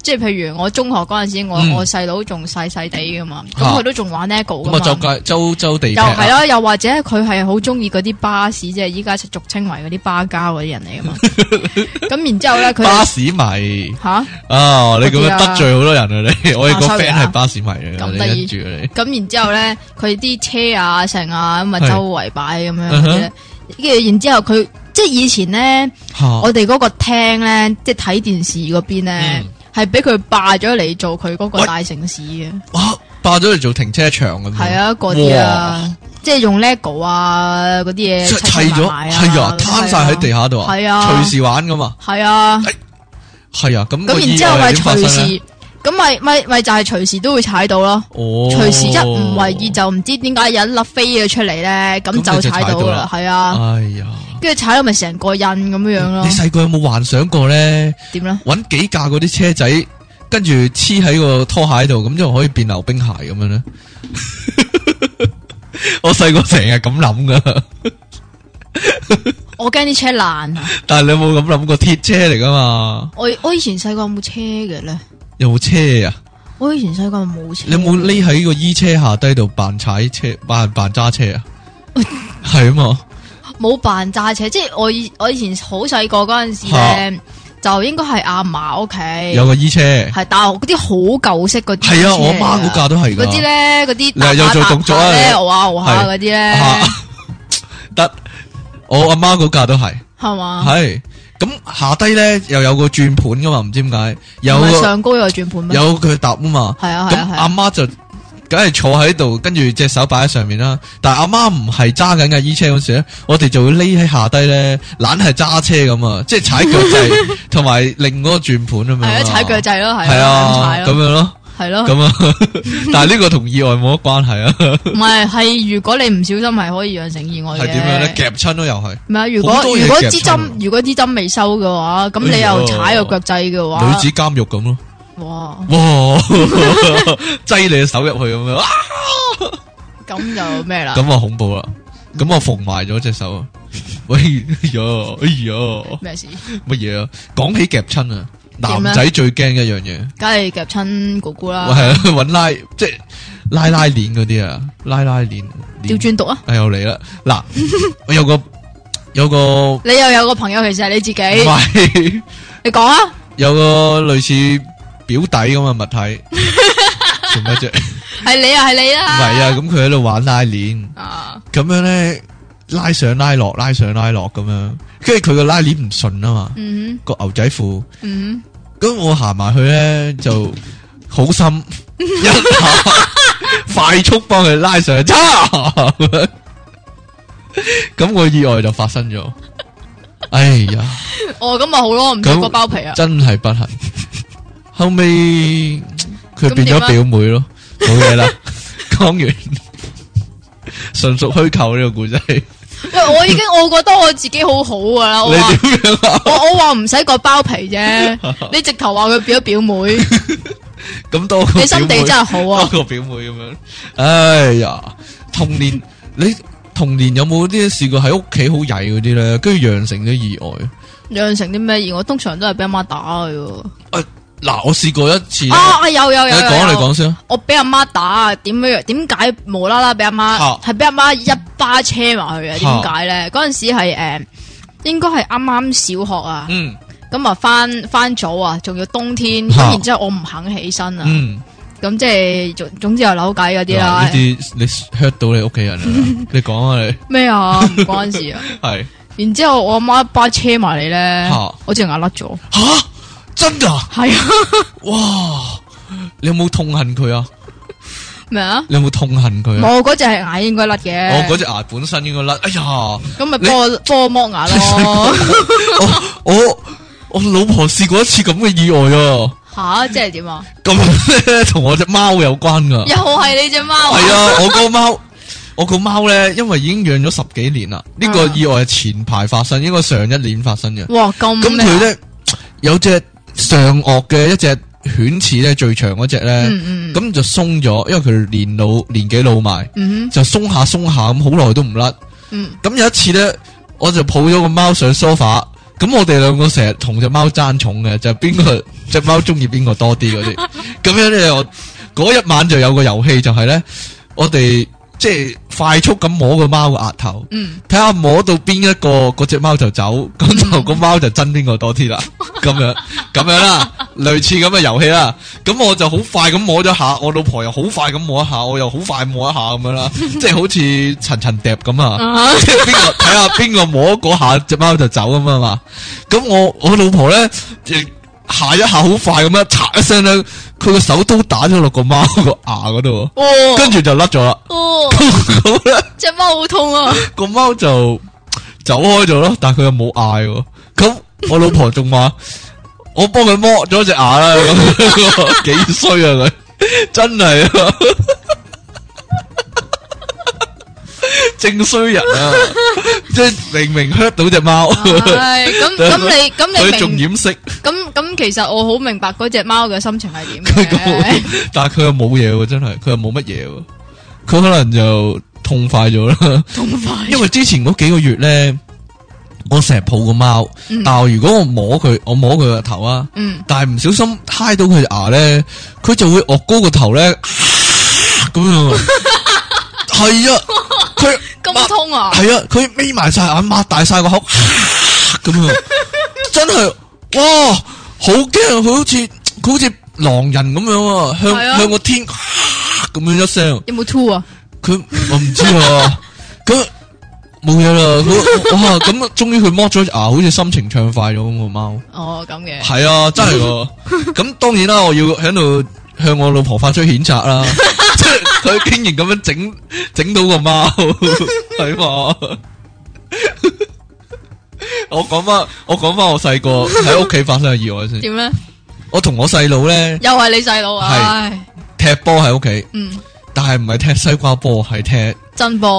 即係譬如我中學嗰陣時，我細佬仲細細地噶嘛，咁佢都仲玩 LEGO 噶嘛。 咁啊，周地又係啦，又或者佢係好中意嗰啲巴士，即係依家俗稱為嗰啲巴膠嗰啲人嚟噶嘛。咁然之後咧，佢巴士迷吓啊！你咁樣得罪好多人啊！你我哋個 friend 係巴士迷嘅， 咁得意住你。 咁然之後咧，佢啲車啊、成啊咁啊，周圍擺咁樣嘅。跟住然之後佢即係以前咧，我哋嗰個廳咧，即係睇電視嗰邊咧，係俾佢霸咗嚟做佢嗰個大城市嘅。 哇！霸咗嚟做停車場咁。 係啊，嗰啲啊，即係用 LEGO 啊嗰啲嘢砌咗，係啊，攤晒喺地下度啊， 係啊， 隨時玩噶嘛。 係啊， 係啊，咁然之後咪隨時。咁咪就係隨時都會踩到咯，隨時一唔為意就唔知點解有一粒飛咗出嚟咧，咁就踩到啦，係啊，哎呀，跟住踩到咪成個印咁樣樣咯。你細個有冇幻想過咧？ 點咧？ 搵幾架嗰啲車仔，跟住黐喺個拖鞋度，咁就可以變溜冰鞋咁樣咧？我細個成日咁諗噶， 我驚啲車爛啊！ 但係你有冇咁諗過鐵車嚟噶嘛？ 我以前細個有冇車嘅咧？ 有冇車啊？ 我以前細個冇車。 你有冇匿喺個衣車下低度扮踩車、扮揸車啊？係啊嘛， 冇扮揸車，即係我以前好細個嗰陣時咧，就應該係阿嫲屋企有個衣車， 係但係嗰啲好舊式嗰啲。 係啊，我媽嗰架都係嗰啲咧，嗰啲又做動作咧，熬下嗰啲咧。 得，我阿媽嗰架都係， 係嘛？ 係。咁下低咧又有個轉盤噶嘛，唔知點解有上高有轉盤咩？ 有佢搭啊嘛。 係啊， 咁阿媽就梗係坐喺度，跟住隻手擺喺上面啦。但係阿媽唔係揸緊架衣車嗰時咧，我哋就會匿喺下低咧，懶係揸車咁啊，即係踩腳掣同埋另嗰個轉盤咁樣。 係啊，踩腳掣咯， 係啊，咁樣咯。 係咯， 咁啊，但係呢個同意外冇乜關係啊。 唔係，係如果你唔小心係可以釀成意外嘅。 係點樣咧？夾親咯，又係。 唔係，如果支針未收嘅話，咁你又踩個腳掣嘅話， 女子監獄咁咯。 哇！ 擠你嘅手入去咁樣， 咁就咩啦？ 咁啊恐怖啦！咁我縫埋咗隻手啊！喂呀， 咩事？ 乜嘢啊？講起夾親啊！男仔最驚一樣嘢， 梗係夾親姑姑啦。 係啊，搵即係拉鏈嗰啲啊，拉鏈。 調轉讀啊！ 又嚟啦！嗱，我有個，你又有個朋友，其實係你自己。 唔係， 你講啊！ 有個類似表弟咁嘅物體，做咩啫？ 係你啊，係你啦。 唔係啊，咁佢喺度玩拉鏈，咁樣咧拉上拉落，拉上拉落咁樣。跟住佢個拉鏈唔順啊嘛，個牛仔褲，咁我行埋去咧就好心一下快速幫佢拉上去，咁個意外就發生咗。哎呀， 咁咪好咯，唔使割包皮啊， 真係不幸。後尾佢變咗表妹咯，冇嘢啦。講完，純屬虛構呢個故仔。 喂，我覺得我自己好好噶啦。 你點樣啊？ 我話唔使割包皮啫，你直頭話佢變咗表妹， 咁多你心地真係好啊！ 多個表妹咁樣，哎呀，你童年有冇啲試過喺屋企好曳嗰啲咧，跟住釀成啲意外？ 釀成啲咩意外？我通常都係俾阿媽打嘅。 嗱，我試過一次。 有。你講先。 我俾阿媽打，點解無啦啦俾阿媽係俾阿媽一巴車埋去啊？點解咧？嗰陣時係應該係啱啱小學啊。咁啊翻早啊，仲要冬天，咁然之後我唔肯起身啊。咁即係總之有扭計嗰啲啦。 呢啲你 hurt 到你屋企人啊？你講啊你。咩啊？唔關事啊。係。然之後我阿媽一巴車埋嚟咧，我隻牙甩咗。 吓！真噶？係啊！哇！你有冇痛恨佢啊？ 咩啊？ 你有冇痛恨佢啊？ 我嗰隻係牙應該甩嘅。 我嗰隻牙本身應該甩。哎呀！ 咁咪幫我剝牙咯。 我老婆試過一次咁嘅意外啊！ 吓，即係點啊？ 咁咧同我隻貓有關噶。 又係你隻貓？ 係啊！我個貓咧，因為已經養咗10幾年啦。呢個意外係前排發生，應該上一年發生嘅。 哇！咁佢咧有隻上顎嘅一隻犬齒咧，最長嗰隻咧，咁就鬆咗，因為佢年紀老埋，就鬆下咁，好耐都唔甩。咁有一次咧，我就抱咗個貓上梳化， 咁我哋兩個成日同隻貓爭寵嘅，就邊個隻貓中意邊個多啲嗰啲。咁樣咧，我嗰一晚就有個遊戲，就係咧，我哋即係快速咁摸個貓個額頭，睇下摸到邊一個嗰隻貓就走，咁就個貓就憎邊個多啲啦。咁樣啦，類似咁嘅遊戲啦。咁我就好快咁摸咗下，我老婆又好快咁摸一下，我又好快摸一下咁樣啦，即係好似層層疊咁啊。即係邊個睇下邊個摸嗰下隻貓就走咁啊嘛。咁我老婆咧，下一下好快咁樣，嚓一聲咧，佢個手刀打咗落個貓個牙嗰度，跟住就甩咗啦。咁咧， 隻貓好痛啊！ 個貓就走開咗咯，但係佢又冇嗌。咁我老婆仲話：我幫佢剝咗隻牙啦，咁幾衰啊佢，真係啊，正衰人啊！即係明明 hurt 到隻貓， 咁你佢仲掩飾。 咁其實我好明白嗰隻貓嘅心情係點嘅， 但係佢又冇嘢喎，真係佢又冇乜嘢喎，佢可能就痛快咗啦。 痛快， 因為之前嗰幾個月咧，我成日抱個貓，但係如果我摸佢個頭啊，但係唔小心揩到佢隻牙咧，佢就會惡高個頭咧，咁樣。係啊，佢咁痛啊！ 係啊，佢眯埋晒眼，擘大晒個口，咁樣，真係哇，好驚！佢好似狼人咁樣啊，向個天咁樣一聲。 有冇吐啊？ 我唔知啊，咁冇嘢啦。哇，咁終於佢剝咗隻牙，好似心情暢快咗咁個貓。 哦，咁嘅。 係啊，真係喎。咁當然啦，我要喺度向我老婆發出譴責啦。即係佢竟然咁樣整到個貓，係嘛？我講翻我細個喺屋企發生嘅意外先。點咧？我同我細佬咧， 又係你細佬啊？ 踢波喺屋企，但係唔係踢西瓜波，係踢真波。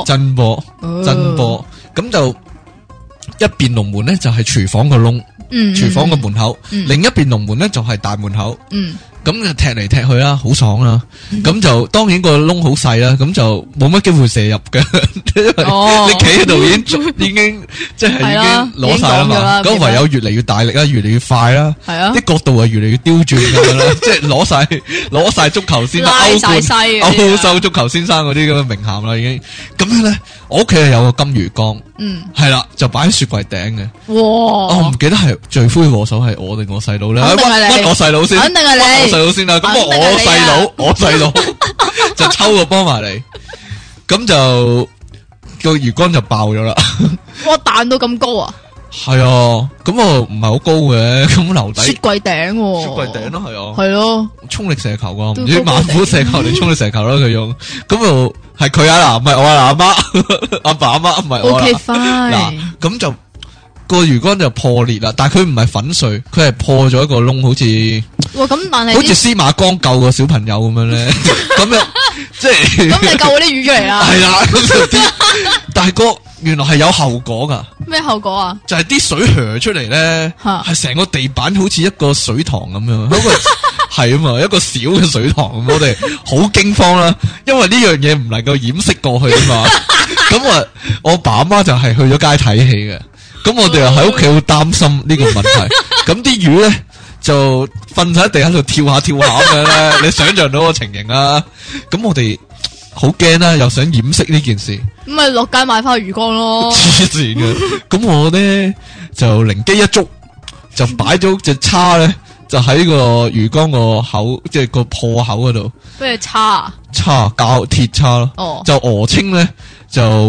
咁就一邊龍門咧就係廚房個窿，廚房個門口，另一邊龍門咧就係大門口。咁就踢嚟踢去啦，好爽啦。咁就當然個窿好細啦，咁就冇乜機會射入嘅，因為你企喺度已經即係已經攞晒啦嘛。咁唯有越嚟越大力啦，越嚟越快啦，啲角度係越嚟越刁鑽咁樣啦，即係攞晒足球先啦，歐洲足球先生嗰啲咁嘅名銜啦，已經。咁樣咧，我屋企係有個金魚缸，係啦，就擺喺雪櫃頂嘅。我唔記得係罪魁禍首係我定我細佬咧，屈我細佬先， 肯定係你。 先啦，咁我細佬就抽個波埋嚟，咁就個魚缸就爆咗啦。 哇，彈到咁高啊！ 係啊，咁我唔係好高嘅，咁留底雪櫃頂， 雪櫃頂咯，係啊， 係咯， 衝力射球噶，唔知猛虎射球定衝力射球啦，佢用，咁就係佢啊嗱，唔係我啊，阿媽阿爸阿媽唔係我啦，嗱，咁就。個魚缸就破裂啦，但係佢唔係粉碎，佢係破咗一個窿，好似咁，但係好似司馬光救個小朋友咁樣咧，咁樣即係咁你救嗰啲魚出嚟啦，係啦， 咁就啲，但係原來係有後果噶， 咩後果啊？就係啲水hö出出嚟咧，係成個地板好似一個水塘咁樣，嗰個係啊嘛，一個小嘅水塘咁，我哋好驚慌啦，因為呢樣嘢唔能夠掩飾過去啊嘛，咁啊，我爸阿媽就係去咗街睇戲嘅。咁我哋又喺屋企好擔心呢個問題，咁啲魚咧就瞓晒喺地喺度跳下跳下咁樣咧，你想象到個情形啊？咁我哋好驚啦，又想掩飾呢件事， 咁咪落街買翻魚缸咯。 黐線嘅，咁我咧就靈機一觸，就擺咗隻叉咧，就喺個魚缸個口，即係個破口嗰度。 咩叉？ 叉膠鐵叉咯，就鵝青咧就。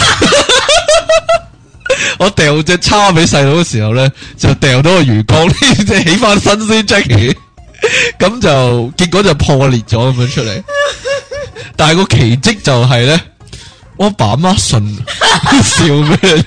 我掉隻叉俾細佬嘅時候咧，就掉到個魚缸，即係起翻身先 Jackie，咁就結果就破裂咗咁樣出嚟。但係個奇蹟就係咧，我爸媽信笑咩？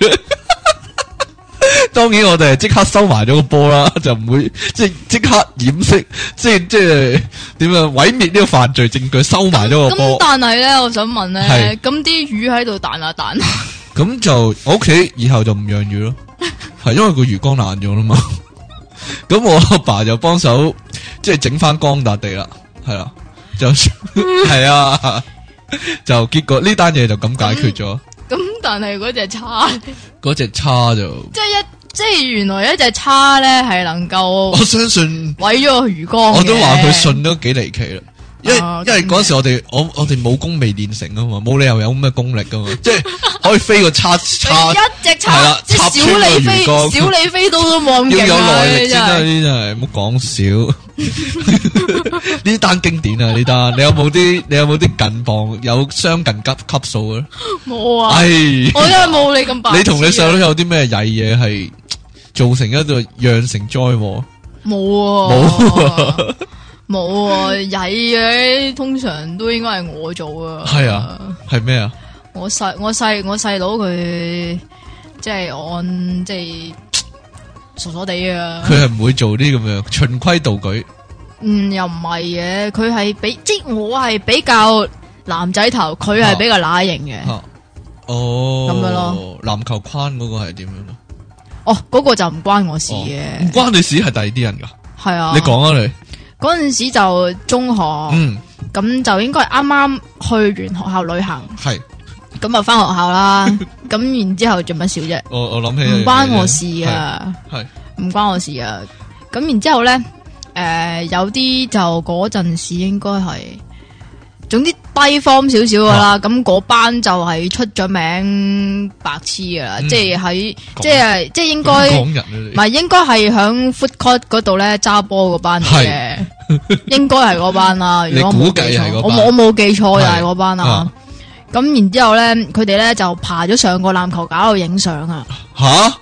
當然我哋係即刻收埋咗個波啦，就唔會即刻掩飾，即係點樣毀滅呢個犯罪證據，收埋咗個波。 咁但係咧，我想問咧，咁啲魚喺度彈下彈下。 咁就我屋企以後就唔養魚咯，係因為個魚缸爛咗啦嘛。咁我阿爸就幫手即係整翻光笪地啦，係啦，就係啊，就結果呢單嘢就咁解決咗。 咁但係嗰隻叉就即係一即係原來一隻叉咧係能夠， 我相信毀咗個魚缸。 我都話佢信都幾離奇啦。因為嗰時我哋武功未練成啊嘛，冇理由有咁嘅功力噶嘛，即係可以飛個叉， 一隻叉， 係啦，插穿個魚缸， 小李飛刀都冇咁勁， 要有耐力先啦，呢啲真係唔好講笑。呢單經典啊，呢單你有冇啲近磅有相近級數嘅？ 冇啊， 唉， 我真係冇你咁白。 你同你細佬有啲咩曳嘢係造成一個釀成災禍？ 冇。冇啊，曳嘅通常都應該係我做啊。 係啊，係咩啊？ 我細佬佢即係按即係傻傻地啊。 佢係唔會做啲咁樣循規蹈矩。 又唔係嘅，佢係即係我係比較男仔頭，佢係比較乸型嘅。 哦， 咁樣咯。 籃球框嗰個係點樣咯？ 哦，嗰個就唔關我事嘅。 唔關你事，係第二啲人噶。 係啊， 你講啊你。 嗰陣時就中學，咁就應該啱啱去完學校旅行， 係咁就翻學校啦。咁然之後做乜笑啫？ 我諗起唔關我事啊， 係唔關我事啊。咁然之後咧，有啲就嗰陣時應該係，總之低 form 少少噶啦。咁嗰班就係出咗名白痴噶啦，即係喺即係應該唔係應該係響 food court 嗰度咧揸波嗰班嚟嘅。應該係嗰班啦，如果我冇記錯，我冇記錯就係嗰班啦。咁然之後咧，佢哋咧就爬咗上個籃球架度影相啊。 吓，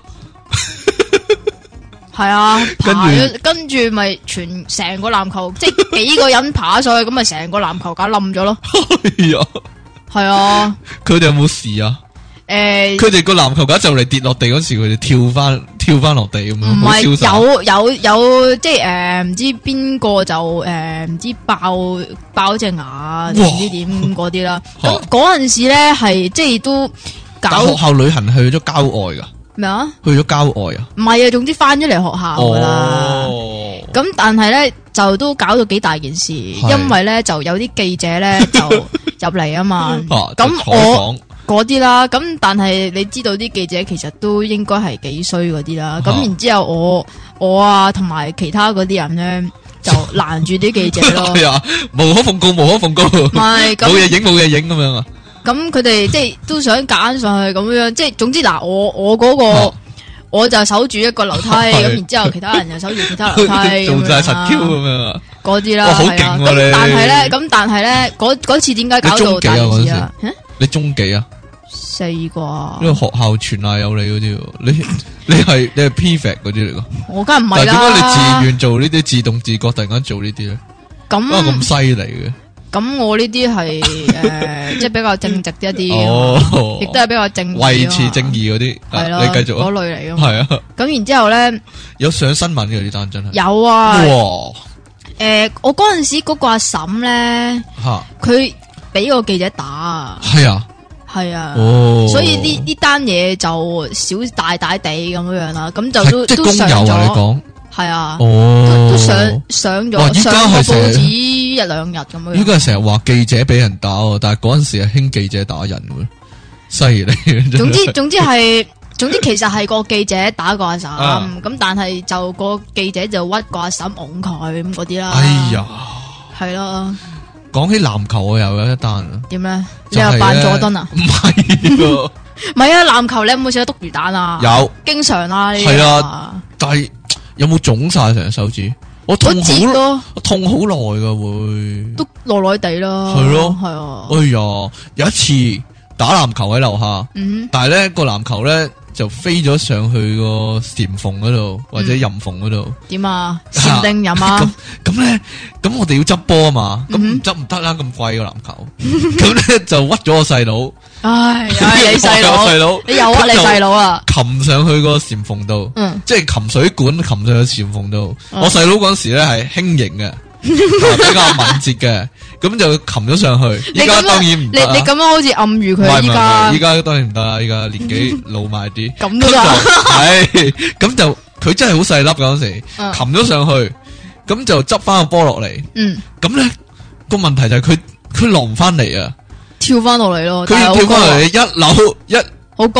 係啊，爬咗，跟住咪成個籃球，即係幾個人爬上去，咁咪成個籃球架冧咗咯。係啊， 佢哋有冇事啊？佢哋個籃球架就嚟跌落地嗰時，佢哋跳翻落地咁樣， 唔係有即係唔知邊個就唔知爆隻牙，唔知點嗰啲啦。咁嗰陣時咧係即係都搞學校旅行去咗郊外噶咩啊？ 去咗郊外啊？ 唔係啊，總之翻咗嚟學校噶啦。咁但係咧就都搞到幾大件事，因為咧就有啲記者咧就入嚟啊嘛。咁我。嗰啲啦，咁但係你知道啲記者其實都應該係幾衰嗰啲啦，咁然之後我啊同埋其他嗰啲人咧就攔住啲記者咯。 係啊，無可奉告，無可奉告。唔係冇嘢影咁樣啊。 咁佢哋即係都想揀上去咁樣，即係總之嗱，我嗰個我就守住一個樓梯，咁然之後其他人又守住其他樓梯， 做晒實 Q 咁樣啊。 嗰啲啦， 好勁啊你。 但係咧嗰次點解搞到大件事啊？ 你中幾啊 ？4啩， 因為學校傳賴有你嗰啲，你係 prefect 嗰啲嚟噶。 我梗係唔係啦。 但係點解你自願做呢啲自動自覺，突然間做呢啲咧？咁犀利嘅。咁我呢啲係即係比較正直一啲，亦都係比較正維持正義嗰啲。 係咯， 你繼續嗰類嚟噶。 係啊。 咁然之後咧， 有上新聞嘅呢單真係。 有啊。 哇！ 我嗰陣時嗰個阿嬸咧，佢俾個記者打啊。 係啊。 係啊，所以呢單嘢就少大地咁樣啦，咁就都上咗，係啊，都上咗上個報紙1-2日咁樣。 依家成日話記者俾人打，但係嗰陣時係興記者打人嘅，犀利。 總之其實係個記者打個阿嬸，咁但係就個記者就屈個阿嬸㧬佢咁嗰啲啦。 哎呀， 係咯。 講起籃球我又有一單啊。 點咧？你又扮佐敦啊？ 唔係， 唔係啊！籃球你有冇試過篤魚蛋啊？ 有， 經常啦。 係啊，但係有冇腫晒成隻手指？我痛好耐噶會， 都耐耐地啦。 係咯， 係啊。 哎呀，有一次打籃球喺樓下，但係咧個籃球咧就飛咗上去個禪縫嗰度或者任縫嗰度。點啊？禪定任啊？咁咧，咁我哋要執波啊嘛，咁唔執唔得啦，咁貴個籃球，咁咧就屈咗我細佬。唉，你細佬，你又屈你細佬啊？擒上去個禪縫度，即係擒水管擒上去禪縫度。我細佬嗰時咧係輕盈嘅，比較敏捷嘅，咁就擒咗上去。依家當然唔得。你咁樣好似暗喻佢依家當然唔得啦，依家年紀老邁啲。咁就係，咁就佢真係好細粒嗰時，擒咗上去，咁就執翻個波落嚟。咁咧個問題就係佢落唔翻嚟啊！跳翻落嚟咯，佢跳翻落嚟一扭好高，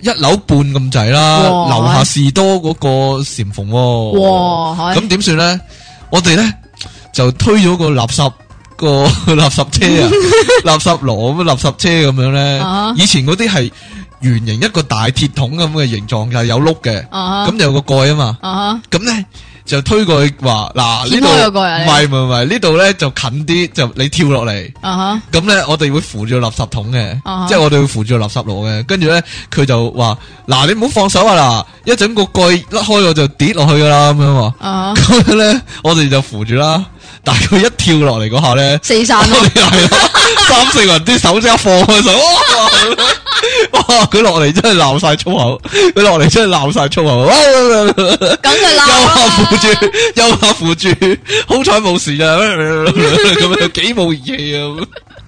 一樓半咁滯啦，樓下士多嗰個禪縫喎。 哇！ 咁點算咧？我哋咧就推咗個垃圾車啊，垃圾籮咁垃圾車咁樣咧。以前嗰啲係圓形一個大鐵桶咁嘅形狀，就有碌嘅，咁就有個蓋啊嘛。咁咧就推過去話嗱，呢度唔係呢度咧就近啲，就你跳落嚟。咁咧我哋會扶住個垃圾桶嘅，即係我哋會扶住個垃圾籮嘅。跟住咧佢就話嗱，你唔好放手啊嗱，一陣個蓋甩開我就跌落去噶啦咁樣話。咁樣咧我哋就扶住啦。但係佢一跳落嚟嗰下咧， 四散咯， 係咯，3、4個人啲手即刻放開手，哇！佢落嚟真係鬧晒粗口，佢落嚟真係鬧晒粗口， 咁佢鬧右下扶住，好彩冇事啊，咁樣幾冇義氣啊！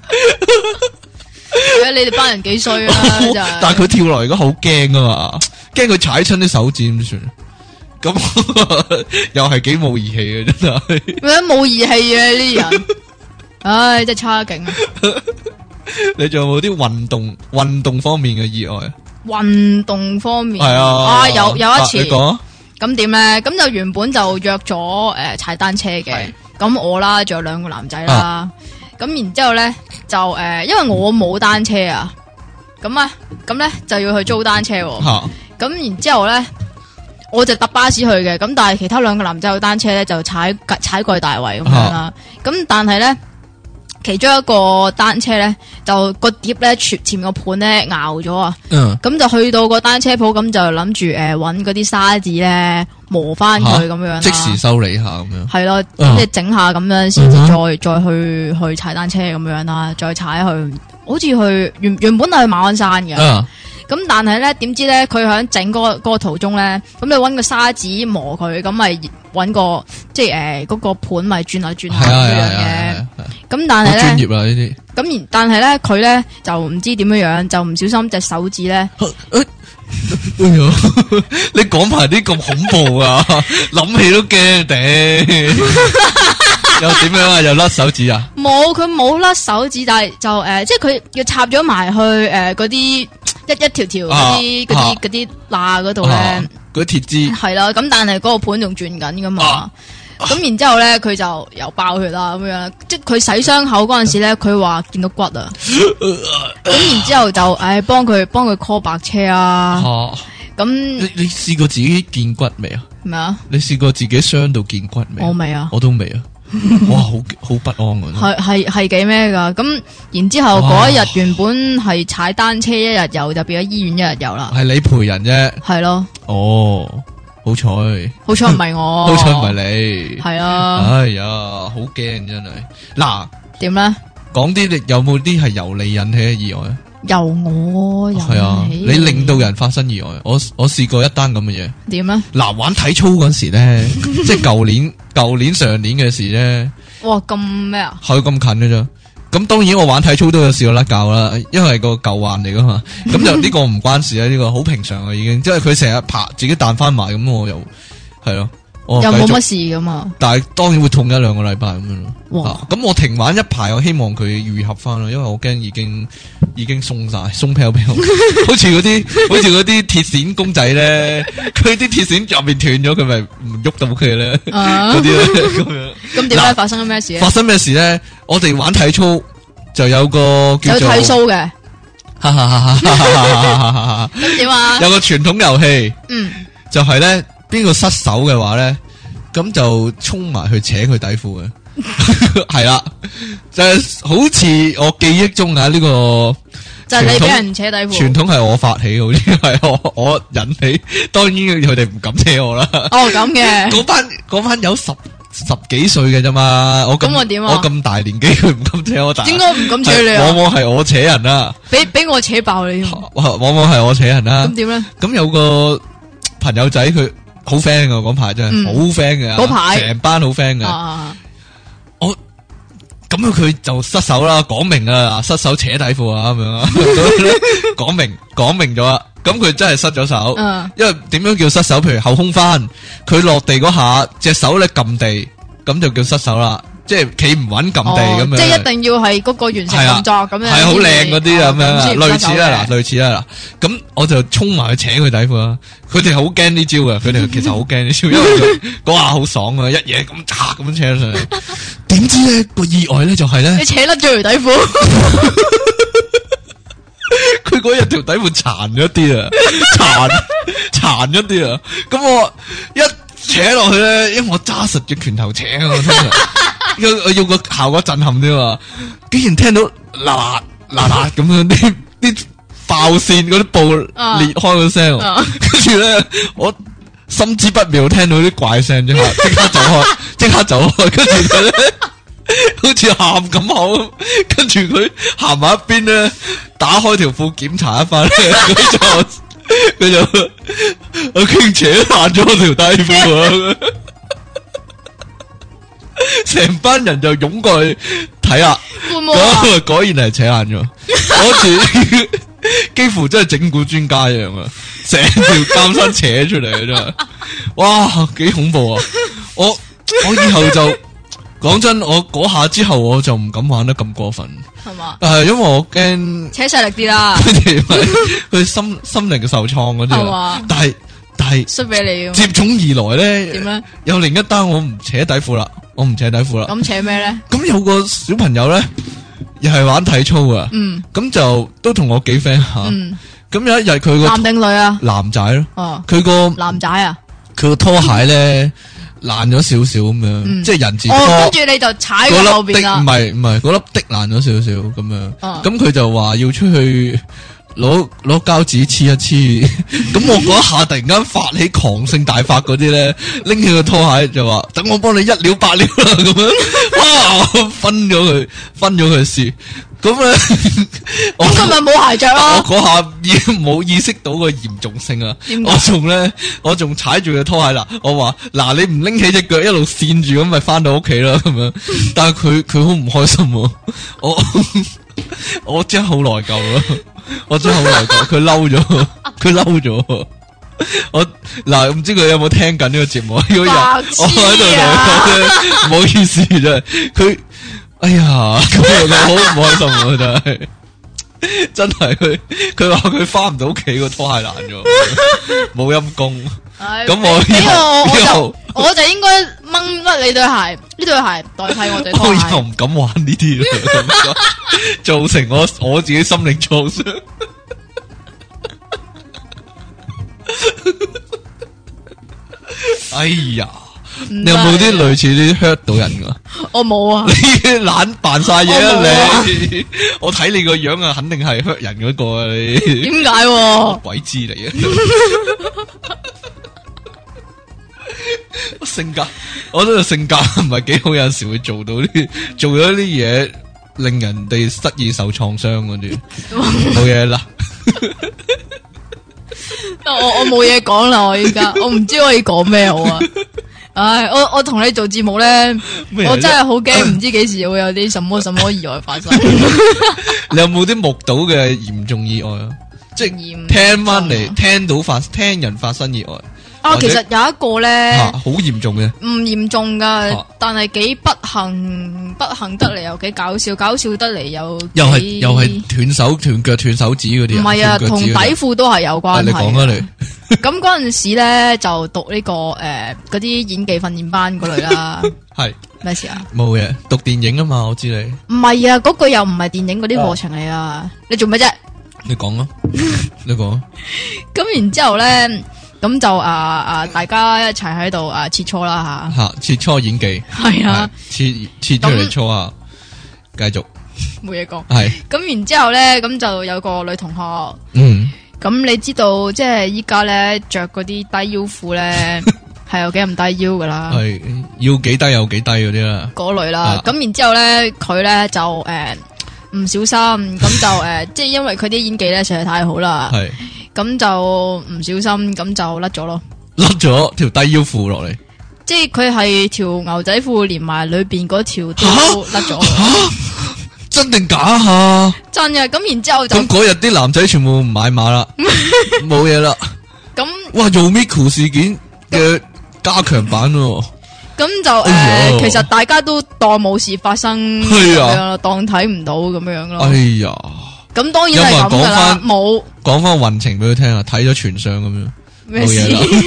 你哋班人幾衰啊！ 但係佢跳落嚟嗰好驚啊嘛，驚佢踩親啲手指點算？咁又係幾冇義氣嘅真係， 咩冇義氣嘅呢啲人，唉，真係差勁啊！ 你仲有冇啲運動方面嘅意外啊？ 運動方面係啊， 有一次， 你講咁點咧？咁就原本就約咗踩單車嘅，咁我啦，仲有2個男仔啦，咁然之後咧就因為我冇單車啊，咁咧就要去租單車，咁然之後咧。我就搭巴士去嘅，咁但係其他2個男仔有單車咧，就踩過去大圍咁樣啦。咁但係咧，其中一個單車咧，就個碟咧前面個盤咧拗咗啊。咁就去到個單車鋪，咁就諗住搵嗰啲沙子咧磨翻佢咁樣， 即時修理下咁樣。係咯，即係整下咁樣，先至再去踩單車咁樣啦，再踩去，好似去原本係去馬鞍山嘅。咁但係咧，點知咧佢響整嗰個途中咧，咁你搵個沙子磨佢，咁咪搵個即係嗰個盤咪轉下轉下咁樣嘅。咁但係咧， 專業啦呢啲。 咁但係咧，佢咧就唔知點樣樣，就唔小心隻手指咧。 你講埋啲咁恐怖啊，諗起都驚頂。又點樣啊？又甩手指啊？ 冇，佢冇甩手指，但係就即係佢要插咗埋去嗰啲。一條條嗰啲罅嗰度咧， 嗰啲鐵枝係啦，咁但係嗰個盤仲轉緊噶嘛，咁然之後咧佢就又爆血啦咁樣，即係佢洗傷口嗰陣時咧，佢話見到骨啊，咁然之後就幫佢 call 白車啊，咁你試過自己見骨未啊？ 咩啊？ 你試過自己傷到見骨未？ 我未啊， 我都未啊。哇，好不安啊！ 係幾咩噶？咁然之後嗰一日原本係踩單車一日遊，就變咗醫院一日遊啦。係你陪人啫。係咯。 哦，好彩唔係我， 好彩唔係你。 係啊。 哎呀，好驚真係。嗱， 點咧？ 講啲你有冇啲係由你引起嘅意外啊？ 由我引起。 係啊，你令到人發生意外。我試過一單咁嘅嘢。 點咧？ 嗱，玩體操嗰時咧，即係舊年上年嘅事咧。 哇，咁咩啊？ 係咁近嘅啫。咁當然我玩體操都有試過甩臼啦，因為個舊患嚟噶嘛。咁就呢個唔關事啊，呢個好平常啊已經。即係佢成日爬自己彈翻埋，咁我又係咯。 又冇乜事噶嘛？但係當然會痛1-2個禮拜咁樣咯。 哇！ 咁我停玩一排，我希望佢愈合翻咯，因為我驚已經鬆晒，鬆飄飄，好似嗰啲鐵線公仔咧，佢啲鐵線入面斷咗，佢咪唔喐到佢咧，嗰啲咧咁樣。咁點解發生咗咩事咧？ 發生咩事咧？我哋玩體操就有個叫做有體操嘅，咁點啊？ 有個傳統遊戲，就係咧。邊個失手嘅話咧，咁就衝埋去扯佢底褲嘅，係啦，就係好似我記憶中啊呢個就係你俾人扯底褲， 傳統係我發起，好似係我引起，當然佢哋唔敢扯我啦。 哦，咁嘅， 嗰班有十幾歲嘅啫嘛， 咁我點啊？ 我咁大年紀，佢唔敢扯我， 點解唔敢扯你啊？ 往往係我扯人啦， 俾我扯爆你， 往往係我扯人啦。 咁點咧？ 咁有個朋友仔佢。好 friend 噶嗰排真係好 friend 嘅， 嗰排成班好 friend 嘅。我咁佢就失手啦，講明啊，失手扯底褲啊咁樣啊，講明咗啦。咁佢真係失咗手，因為點樣叫失手？譬如後空翻，佢落地嗰下隻手咧撳地，咁就叫失手啦。 即係企唔穩撳地咁樣， 即係一定要係嗰個完成動作咁樣， 係好靚嗰啲咁樣，類似啦嗱， 類似啦嗱。咁我就衝埋去扯佢底褲啦。佢哋好驚呢招噶，佢哋其實好驚呢招，因為嗰下好爽啊，一嘢咁嚓咁扯上嚟。點知咧個意外咧就係咧， 你扯甩咗條底褲。 佢嗰日條底褲殘咗啲啊，殘咗啲啊。咁我一扯落去咧，因為我揸實隻拳頭扯啊，我通常要個效果震撼啲嘛。竟然聽到嗱嗱咁樣啲爆線嗰啲布裂開個聲，跟住咧我心知不妙，聽到啲怪聲，即刻走開，跟住佢咧好似喊咁口，跟住佢行埋一邊咧，打開條褲檢查一番咧，佢就我傾扯爛咗我條底褲啊！成班人就湧過去睇下，果然係扯爛咗，嗰次幾乎真係整蠱專家一樣啊！成條監生扯出嚟啊，真係，哇，幾恐怖啊！我以後就講真，我嗰下之後我就唔敢玩得咁過分， 係嘛？ 因為我驚扯細力啲啦， 佢心靈受創嗰啲啊，但係衰俾你接踵而來咧， 點咧？ 有另一單我唔扯底褲啦，咁扯咩咧？ 咁有個小朋友咧，又係玩體操啊，咁就都同我幾 friend 下，咁有一日佢個男定女啊？ 男仔咯， 哦， 佢個男仔啊， 佢個拖鞋咧爛咗少少咁樣，即係人字拖， 跟住你就踩喺後邊啦， 唔係嗰粒的爛咗少少咁樣，咁佢就話要出去攞膠紙黐一黐，咁我嗰一下突然間發起狂性大發嗰啲咧，拎起個拖鞋就話等我幫你一了百了啦咁樣，哇，分咗佢試，咁咧， 咁佢咪冇鞋着咯？ 我嗰下已經冇意識到個嚴重性啊！我仲踩住個拖鞋啦，我話嗱，你唔拎起隻腳一路跣住咁咪翻到屋企啦咁樣，但係佢好唔開心，我真係好內疚咯。我真係好內疚，佢嬲咗，我嗱唔知佢有冇聽緊呢個節目？如果有，我喺度同佢講咧，唔好意思真係，佢哎呀，佢好唔開心啊，真係佢話佢翻唔到屋企，個拖鞋爛咗，冇陰功。咁我就應該掹甩你對鞋，呢對鞋代替我對拖鞋。我又唔敢玩呢啲啦，造成我自己心理創傷。哎呀，你有冇啲類似啲 hurt 到人噶？我冇啊！你懶扮晒嘢啊你！我睇你個樣啊，肯定係 hurt 人嗰個啊你。點解？鬼知你啊！我覺得性格唔係幾好，有陣時會做咗啲嘢，令人哋失意受創傷嗰啲，冇嘢啦。我冇嘢講啦，我依家我唔知可以講咩好啊！唉，我同你做節目咧，我真係好驚，唔知幾時會有啲什麼意外發生。你有冇啲目睹嘅嚴重意外啊？即係聽翻嚟，聽人發生意外。其實有一個咧，好嚴重嘅，唔嚴重噶，但係幾不幸得嚟又幾搞笑得嚟又係斷手斷腳斷手指嗰啲，唔係啊，同底褲都係有關係。你講啊你，咁嗰陣時咧就讀呢個嗰啲演技訓練班嗰類啦，係咩事啊？冇嘢，讀電影啊嘛，我知你。唔係啊，嗰個又唔係電影嗰啲課程嚟啊，你做咩啫？你講啊，你講。咁然之後咧。咁就大家一齊喺度切磋啦吓，切磋演技係啊，切出嚟搓下，繼續冇嘢講係。咁然之後咧，咁就有個女同學，咁你知道即係依家咧着嗰啲低腰褲咧係有幾咁低腰噶啦，係要幾低有幾低嗰啲啦，嗰類啦。咁然之後咧，佢咧就唔小心，咁就即係因為佢啲演技咧實在太好啦，係。咁就唔小心，咁就甩咗咯，甩咗條低腰褲落嚟，即係佢係條牛仔褲連埋裏邊嗰條都甩咗。真定假啊？真嘅。咁然之後就咁嗰日啲男仔全部唔買碼啦，冇嘢啦。咁哇，Yumiko 事件嘅加強版喎。 咁就其實大家都當冇事發生咁樣咯，當睇唔到咁樣咯。 哎呀， 咁當然係咁噶啦，冇講翻運程俾佢聽啊，睇咗全相咁樣， 咩事？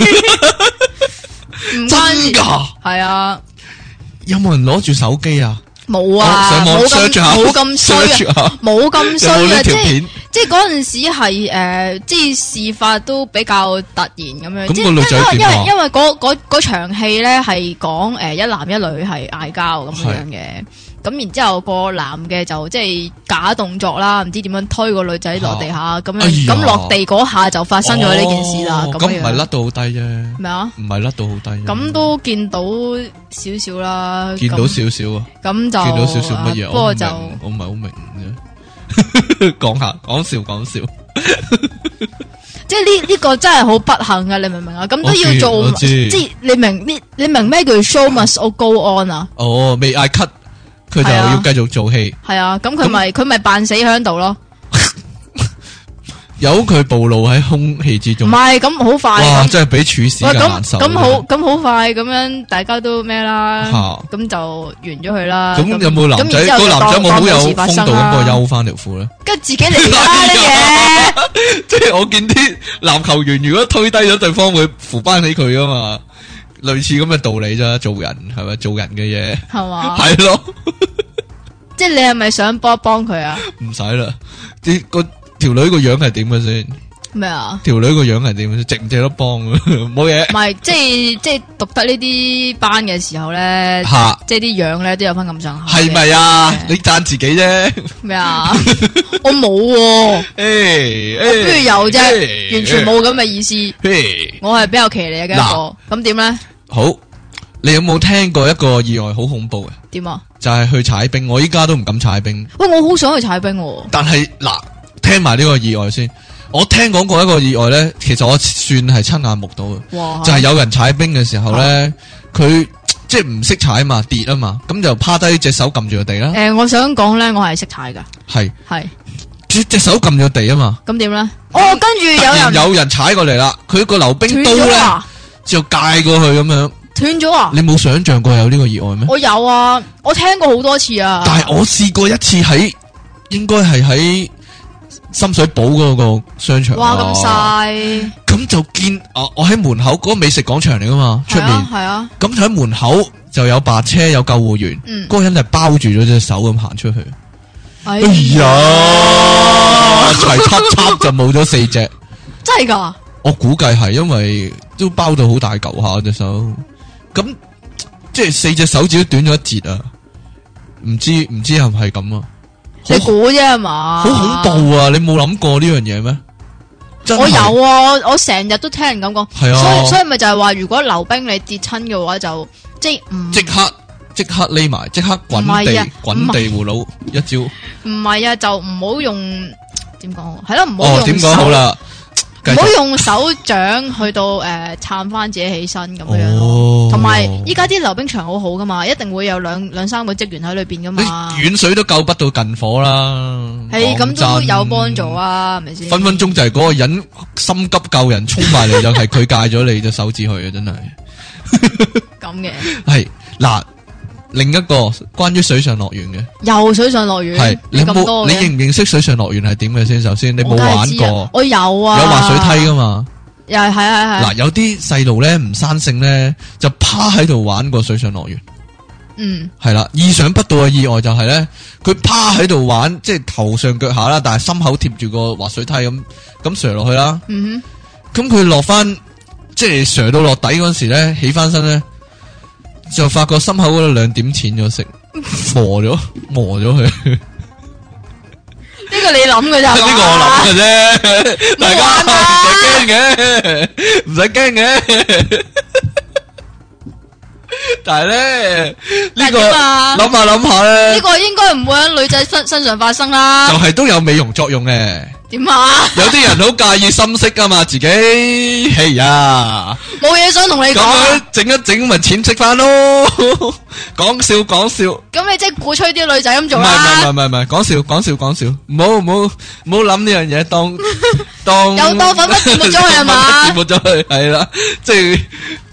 唔真噶？ 係啊。 有冇人攞住手機啊？ 冇啊， 上網 search 下， 冇咁衰啊，冇咁衰啊，即係嗰陣時係即係事發都比較突然咁樣。 咁個女仔點啊？ 因為嗰場戲咧係講一男一女係嗌交咁樣嘅，咁然之後個男嘅就即係假動作啦，唔知點樣推個女仔落地下咁樣，咁落地嗰下就發生咗呢件事啦。咁唔係甩到好低啫。 咩啊？ 唔係甩到好低。咁都見到少少啦。 見到少少啊。咁就見到少少乜嘢？ 不過就我唔係好明啫。講笑。 即係呢個真係好不幸啊！你明唔明啊？咁都要做，即係你明咩叫 show must go on 啊？ 哦，未嗌 cut。佢就要繼續做戲， 係啊，咁佢咪扮死喺度咯， 由佢暴露喺空氣之中。 唔係咁好快， 哇！真係比處死更難受。 咁好快咁樣，大家都咩啦？咁就完咗佢啦。 咁有冇男仔個男仔冇好有風度咁個休翻條褲咧？ 跟住自己嚟啦呢嘢。 即係我見啲籃球員如果推低咗對方，會扶翻起佢噶嘛？類似咁嘅道理啫，做人係咪做人嘅嘢？係嘛？係咯， 即係你係咪想幫佢啊？ 唔使啦，條女個樣係點嘅先？ 咩啊？ 條女個樣係點？值唔值得幫？冇嘢。 唔係，即係讀得呢啲班嘅時候咧，即係啲樣咧都有翻咁上下。 係咪啊？你讚自己啫。咩啊？我冇喎。我不如有啫，完全冇咁嘅意思。我係比較騎呢嘅一個。咁點咧？ 好，你有冇聽過一個意外好恐怖嘅？ 點啊？ 就係去踩冰，我依家都唔敢踩冰。 喂，我好想去踩冰。 但係嗱，聽埋呢個意外先。我聽講過一個意外咧，其實我算係親眼目睹嘅。哇！就係有人踩冰嘅時候咧，佢即係唔識踩嘛，跌啊嘛，咁就趴低隻手撳住個地啦。 我想講咧，我係識踩噶。係。 隻手撳住地啊嘛。 咁點咧？跟住有人踩過嚟啦，佢個溜冰刀咧就界過去咁樣。 斷咗啊！ 你冇想象過有呢個意外咩？ 我有啊，我聽過好多次啊。 但係我試過一次應該係喺深水埗嗰個商場。 哇，咁細！ 咁就見我喺門口嗰個美食廣場嚟噶嘛，出面係啊。咁就喺門口就有白車，有救護員，嗰個人係包住咗隻手咁行出去。哎呀，齊插就冇咗4隻。 真係噶？ 我估計係因為都包到好大嚿下隻手。咁即係4隻手指都短咗1截啊！唔知係唔係咁啊？ 你估啫係嘛？ 好恐怖啊！你冇諗過呢樣嘢咩？ 我有啊，我成日都聽人咁講。 係啊， 所以咪就係話，如果溜冰你跌親嘅話，就即刻匿埋，即刻滾地葫蘆一招。唔係啊，就唔好用點講？係咯，唔好用點講好啦。 唔好用手掌去到撐翻自己起身咁樣，同埋依家啲溜冰場好好噶嘛，一定會有兩三個職員喺裏邊噶嘛。 遠水都救不到近火啦， 係咁都有幫助啊，係咪先？ 分分鐘就係嗰個人心急救人衝埋嚟，就係佢戒咗你隻手指去啊！真係咁嘅係嗱。另一個關於水上樂園嘅， 又水上樂園係你認唔認識水上樂園係點嘅先？首先你冇玩過， 我有啊， 有滑水梯噶嘛？ 又係嗱，有啲細路咧唔生性咧，就趴喺度玩過水上樂園。係啦，意想不到嘅意外就係咧，佢趴喺度玩，即係頭上腳下啦，但係心口貼住個滑水梯咁上落去啦。咁佢落翻，即係上到落底嗰時咧，起翻身咧。就發覺心口嗰度2點淺咗色，磨咗佢。 呢個你諗嘅咋？ 呢個我諗嘅啫，大家唔使驚嘅。但係咧，呢個諗下咧， 呢個應該唔會喺女仔身上發生啦。 就係都有美容作用嘅。 點啊？ 有啲人好介意深色噶嘛，自己係呀， 冇嘢想同你講。咁樣整一整咪淺色翻咯。講笑。 咁你即係鼓吹啲女仔咁做啦？ 唔係，講笑。唔好諗呢樣嘢，當又當粉筆跌沒咗佢係嘛？ 跌沒咗佢係啦，即係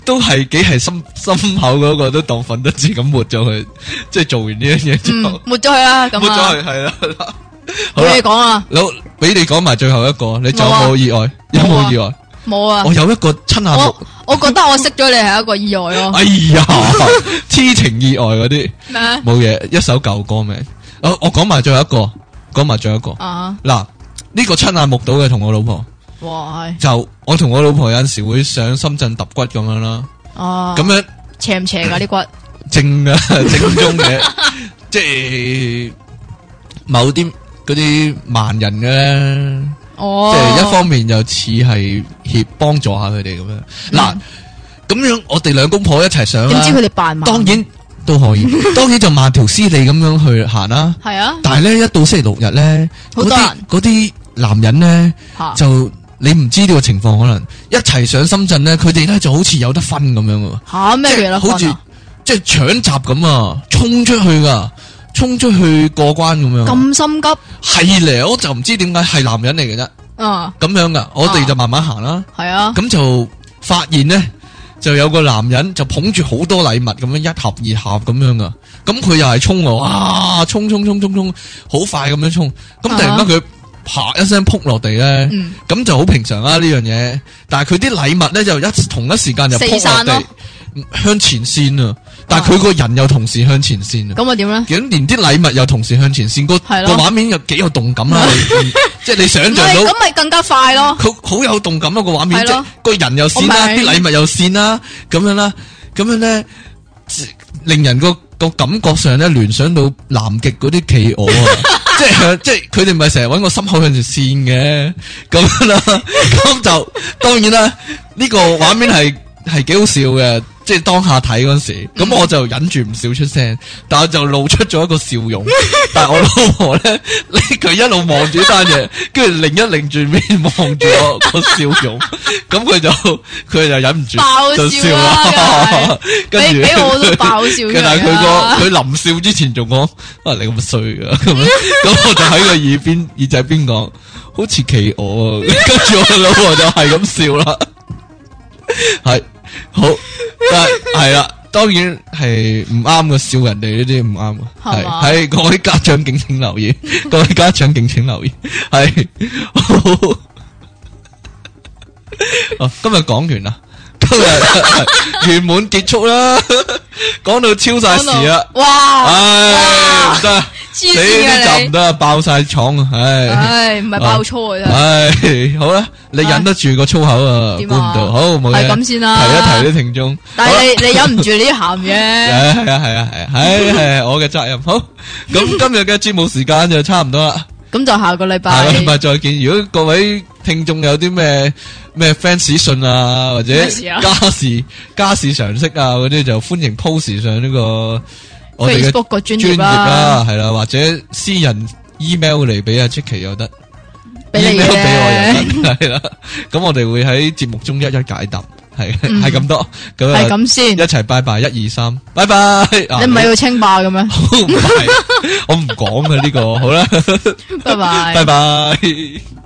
都係幾係心口嗰個都當粉得字咁抹咗佢，即係做完呢樣嘢之後， 抹咗佢啦，咁抹咗佢係啦。好啦，你講啊， 好，俾你講埋最後一個，你仲有冇意外？有冇意外？ 冇啊！ 我有一個親眼目， 我覺得我識咗你係一個意外咯。 哎呀，痴情意外嗰啲咩？ 冇嘢，一首舊歌名。我講埋最後一個，啊！嗱，呢個親眼目睹嘅同我老婆。 哇！ 就我同我老婆有陣時會上深圳揼骨咁樣啦。哦。咁樣斜唔斜噶啲骨？正啊，正宗嘅，即係某啲嗰啲盲人嘅咧。哦。即係一方面又似係幫助下佢哋咁樣。嗱，咁樣我哋兩公婆一齊上。 點知佢哋扮盲？ 當然都可以，當然就慢條斯理咁樣去行啦。係啊。但係咧，一到星期六日咧，嗰啲男人咧就。你唔知呢個情況，可能一齊上深圳咧，佢哋咧就好似有得分咁樣啊！ 吓咩嘢啦？ 好似即係搶閘咁啊，衝出去噶，衝出去過關咁樣。 咁心急？ 係咧，我就唔知點解係男人嚟嘅啫。咁樣噶，我哋就慢慢行啦。係啊。咁就發現咧，就有個男人就捧住好多禮物咁樣一盒二盒咁樣噶。咁佢又係衝喎，哇！衝，好快咁樣衝。咁突然間佢。啪一聲撲落地咧，咁就好平常啦呢樣嘢。但係佢啲禮物咧就同一時間就撲落地，向前線啊！但係佢個人又同時向前線啊！ 咁啊點咧？ 咁連啲禮物又同時向前線，個畫面又幾有動感啦！即係你想象到， 咁咪更加快咯！ 好有動感啊個畫面，即係個人又線啦，啲禮物又線啦，咁樣啦，咁樣咧，令人個感覺上咧聯想到南極嗰啲企鵝啊！即係佢哋咪成日搵個心口向住線嘅咁啦，咁就當然啦，呢個畫面係幾好笑嘅，即係當下睇嗰時，咁我就忍住唔笑出聲，但係就露出咗一個笑容。但係我老婆咧，佢一路望住單嘢，跟住擰住面望住我個笑容，咁佢就忍唔住就笑啦。跟住俾我都爆笑。但係佢臨笑之前仲講：啊，你咁衰噶咁樣。咁我就喺個耳仔邊講，好似企鵝啊。跟住我老婆就係咁笑啦。係好，但係啦，當然係唔啱嘅，笑人哋呢啲唔啱嘅，係各位家長敬請留意，各位家長敬請留意，係好，哦，今日講完啦，今日圓滿結束啦，講到超晒時啦，哇，唉，唔得。你呢集唔得，爆晒廠啊！唉， 唔係爆粗啊！ 唉，好啦，你忍得住個粗口啊？估唔到，好冇嘢。 係咁先啦， 提一提啲聽眾。 但係你忍唔住呢啲鹹嘢。 係我嘅責任。好，咁今日嘅節目時間就差唔多啦。 咁就下個禮拜再見。如果各位聽眾有啲咩 fans 信啊，或者家事常識啊嗰啲，就歡迎 post 上呢個。 Facebook 個專頁啦，係啦，或者私人 email 嚟俾阿積淇又得，email 俾我又得，係啦。咁我哋會喺節目中一一解答，係咁多，咁係咁先， 一齊拜拜，1、2、3，拜拜。 你唔係要清霸嘅咩？ 唔係，我唔講嘅呢個，好啦， 拜拜， 拜拜。